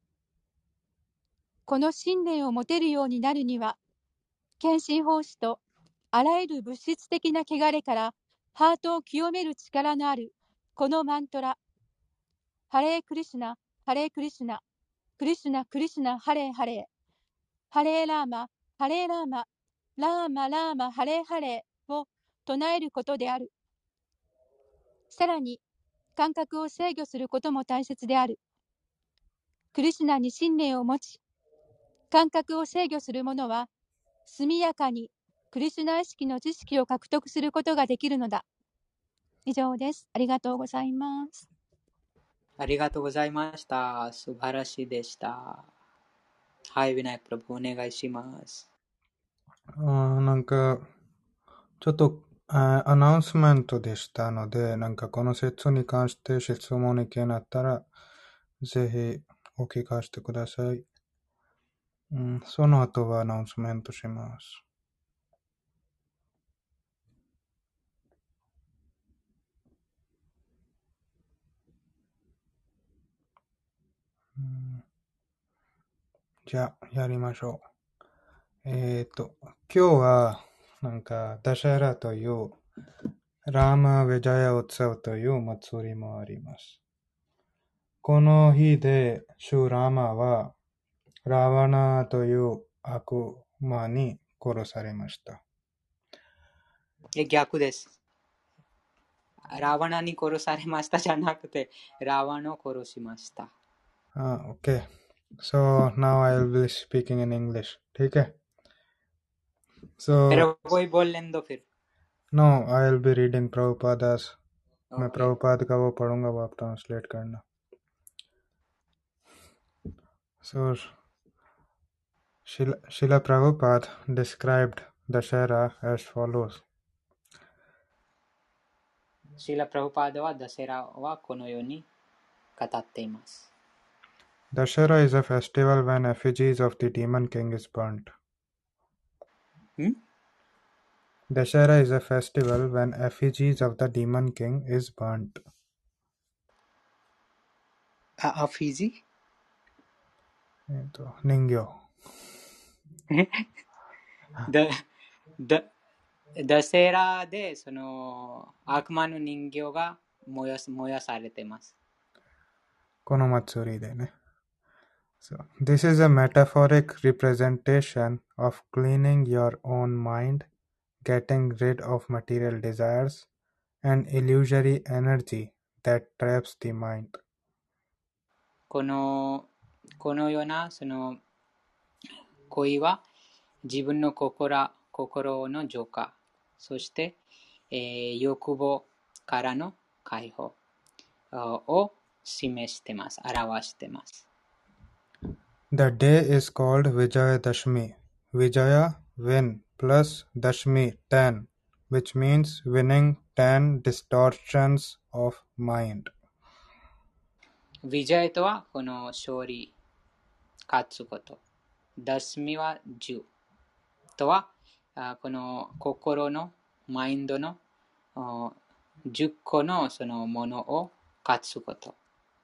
この信念を持てるようになるには、献身奉仕とあらゆる物質的な汚れからハートを清める力のあるこのマントラ、ハレークリシュナ、ハレークリシュナ、クリシュナ、クリシュナ、ハレーハレー、ハレーラーマ、ハレーラーマ、ラーマ、ラーマ、ハレーハレーを唱えることである。さらに、感覚を制御することも大切である。クリシュナに信念を持ち、感覚を制御する者は、速やかにクリシュナ意識の知識を獲得することができるのだ。以上です。ありがとうございます。 ありがとうございました。素晴らしいでした。はい、ヴィナイクプラブお願いします。 あーなんか、ちょっとあアナウンスメントでしたので、なんかこの説に関して質問意見あったら、ぜひお聞かせてください。うん、その後はアナウンスメントします。うん、じゃあ、やりましょう。えっと、今日は、なんか、ダシャラという、ラーマ・ヴェジャヤ・ウツァウという祭りもあります。この日で、シュラーマは、ラワナという悪魔に殺されました。 え、逆です。ラワナに殺されましたじゃなくて、ラワナを殺しました。 Ah, okay. So now I'll be speaking in English. ठीक है? So Pero कोई बोल लें दो फिर. no, I'll be reading Prabhupada's. मैं Okay. प्रभुपाद का वो पढ़ूंगा, वो आप ट्रांसलेट करना. So Srila, Srila Prabhupada described Dashera as follows. シーラ・プラブパーダはダセラはこのように語っています。 Dashera is a festival when effigies of the demon king is burnt. ん Dashera is a festival when effigies of the demon king is burnt. あ、アフィジえっと、人形。 だ、だ、ダセラでその悪魔の人形が燃やす、燃やされています。 この祭りでね。So, this is a metaphoric representation of cleaning your own mind, getting rid of material desires, and illusory energy that traps the mind. このこのようなその恋は自分の心、心の浄化、そして、えー、欲望からの解放を示してます、表してます。 The day is called Vijaya Dashmi. Vijaya, win, plus Dashmi, ten, which means winning ten distortions of mind. ビジャイとはこの勝利、勝つこと。ダスミはじゅうとはこの心のマインドのじゅっこのそのものを勝つこと。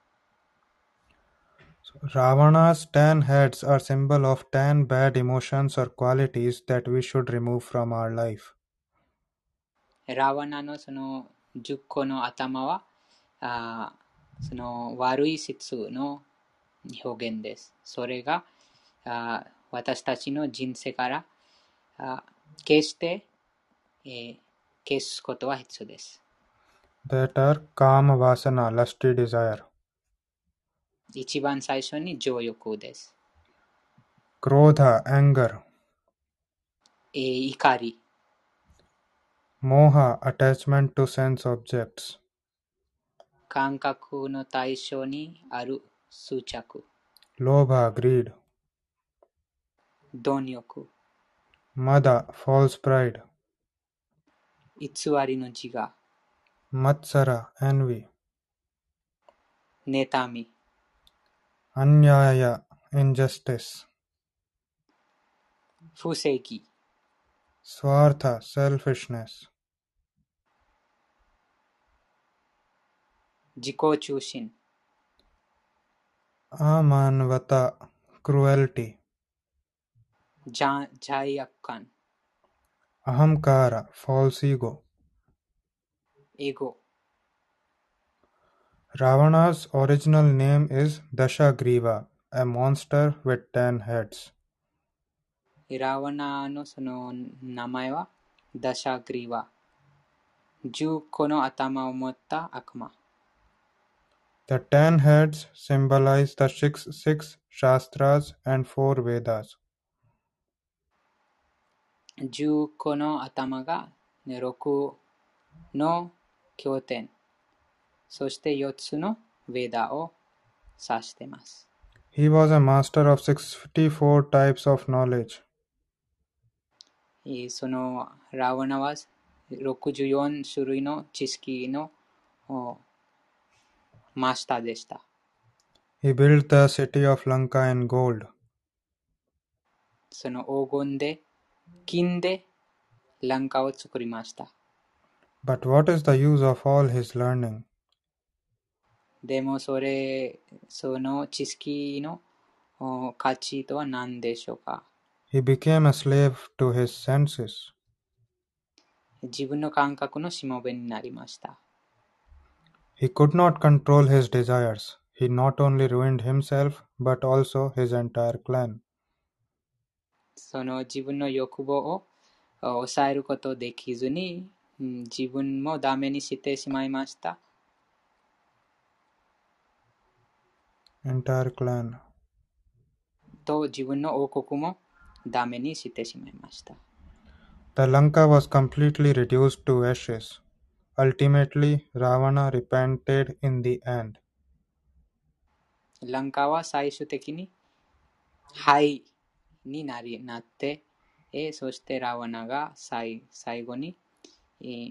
So, Ravana's ten heads are symbol of ten bad emotions or qualities that we should remove from our life. ラワナのそのじゅっこの頭はあその悪い質の表現です。それがあ私たちの人生からあ決して、えー、消すことは必要です。 That are Kama Vasana, lusty desire. 一番最初に情欲です。 Krodha, anger. えー、怒り。 Moha, attachment to sense objects. 感覚の対象にある執着。 Lobha, greed. 貪欲。 Mada, false pride. 偽りの自我。 Matsara, envy. 妬み。 Anyaya, injustice. 不正義。 Swartha, selfishness. 自己中心。 Amanvata, cruelty. 罪悪感。 Ahamkara, false ego. エゴ。 Ravana's original name is Dashagriva, a monster with ten heads. ラワナのその名前はダシャグリワ。じゅっこの頭を持った悪魔。 The ten heads symbolize the six, six Shastras and four Vedas. じゅっこの頭がろくの経典、そしてよっつのヴェダを指しています。 He was a master of sixty-four types of knowledge. そのラワナはろくじゅうよん種類の知識のマスターでした。 He built the city of Lanka in gold. その黄金で、金でランカを作りました。 But what is the use of all his learning? でもそれ、その知識の価値とは何でしょうか？ He became a slave to his senses. 自分の感覚のしもべになりました。 He could not control his desires. He not only ruined himself, but also his entire clan. その自分の欲望を抑えることできずに、自分もダメにしてしまいました。 Entire clan. と自分の王国もダメにしてしまいました。 The Lanka was completely reduced to ashes. Ultimately, Ravana repented in the end. ランカは最終的に灰になりなって、えそしてラワナが 最, 最後に、えー、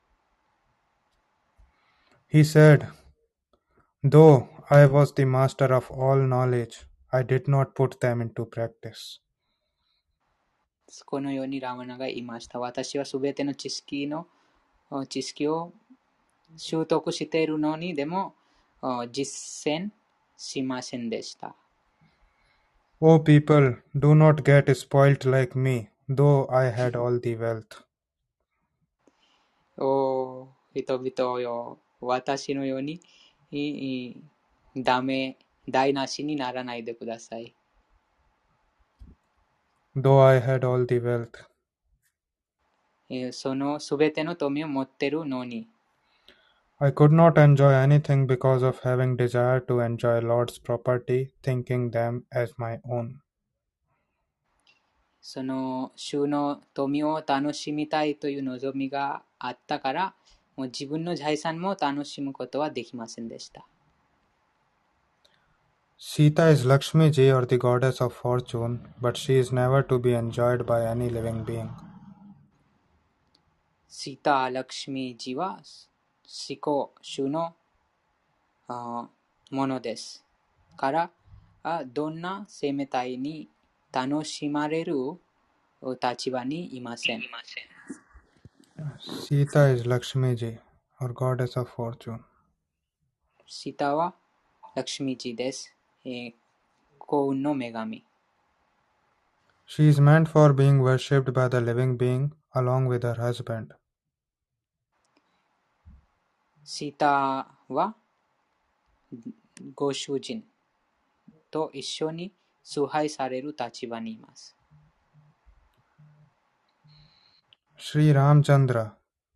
He said, Though I was the master of all knowledge, I did not put them into practice. このようにラワナが言いました。私はすべての知識の知識を習得しているのに、でも実践しませんでした。 O people, do not get spoilt like me, though I had all the wealth. お人々よ、私のようにダメ、台無しにならないでください。 Though I had all the wealth. そのすべての富を持っているのに。 I could not enjoy anything because of having desire to enjoy Lord's property, thinking them as my own. その主の富を楽しみたいという望みがあったから、もう自分の財産も楽しむことはできませんでした。 Sita is Lakshmiji or the goddess of fortune, but she is never to be enjoyed by any living being. シータ・ラクシミジは思考主のあものです。から、あどんな生命体に楽しまれる立場にいません。 Sita is Lakshmiji or goddess of fortune. シータはラクシミジです。えー幸運の女神。 She is meant for being worshipped by the living being along with her husband. シータはご主人と一緒に崇拝される立場にいます。 Sri Ramchandra.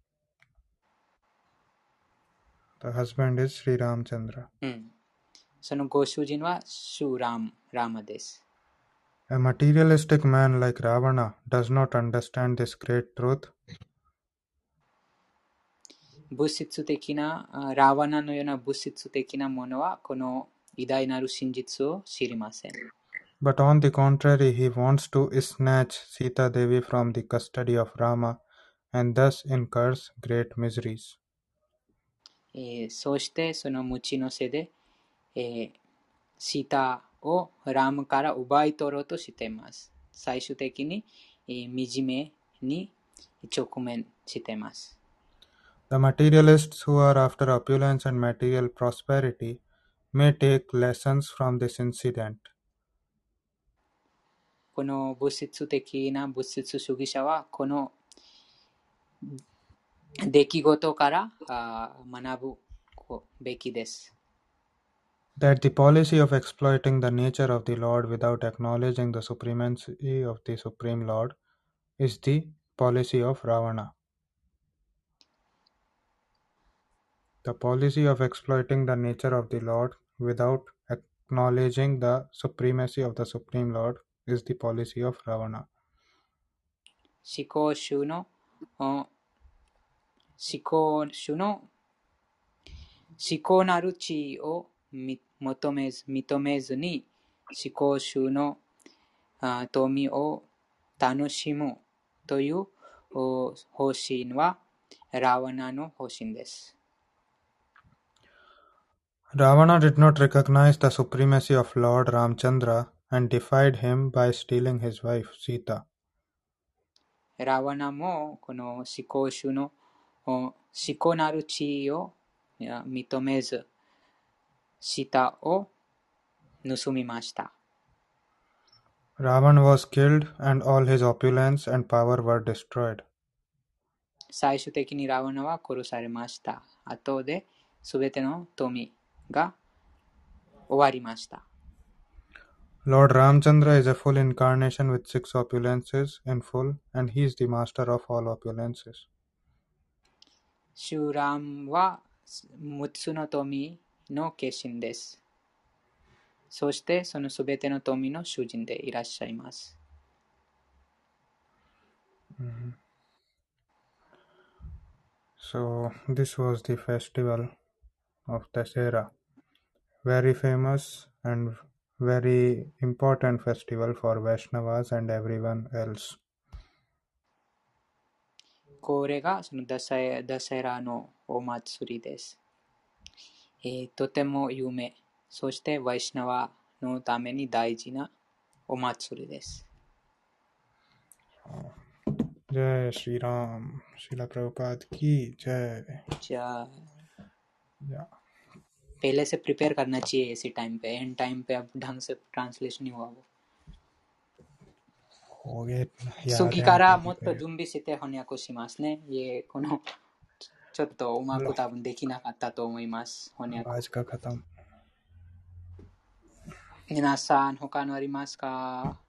The husband is Sri Ramchandra. うん。そのご主人はシュラム、ラマです。 A materialistic man like Ravana does not understand this great truth. 物質的な、ラワナのような物質的なものはこの偉大なる真実を知りません。 But on the contrary, he wants to snatch Sita Devi from the custody of Rama and thus incurs great miseries. えー、そしてその無知のせいで、えー、シータをラムから奪い取ろうとしています。最終的に、えー、惨めに直面しています。 The materialists who are after opulence and material prosperity may take lessons from this incident. この物質的な物質主義者はこの出来事から学ぶべきです。 That the policy of exploiting the nature of the Lord without acknowledging the supremacy of the Supreme Lord is the policy of Ravana. The policy of exploiting the nature of the Lord without acknowledging the supremacy of the Supreme Lord is the policy of Ravana. 思考主の思考主の思考なる地位を求めず認めずに思考主の富を楽しむという方針はラワナの方針です。 Ravana did not recognize the supremacy of Lord Ramchandra and defied him by stealing his wife Sita. ラワナもこの思考主の思考なる地位を認めず、シタを盗みました。 Ravan was killed and all his opulence and power were destroyed. 最終的にラワナは殺されました。後で全ての富が終わりました。 Lord Ramchandra is a full incarnation with six opulences in full, and he is the master of all opulences. シュラムはむっつの富の化身です。そしてそのすべての富の主人でいらっしゃいます。 Mm-hmm. So this was the festival of Dasera, very famous and very important festival for Vaishnavas and everyone else. これがそのダセダセラのお祭りです。えー、とても有名、そしてワイシナワのために大事なお祭りです。 जय श्री राम श्रीला प्रभुपाद की जय। जय। या पहले से प्रिपेयर करना चाहिए इसी टाइम पे, एंड टाइम पे अब ढंग से ट्रांसलेशन नहीं हुआ वो हो गए। 次からもっと準備して翻訳しますね。いえ、このちょっとうまく多分できなかったと思います。翻訳。 आज का खत्म। 皆さん他のありますか？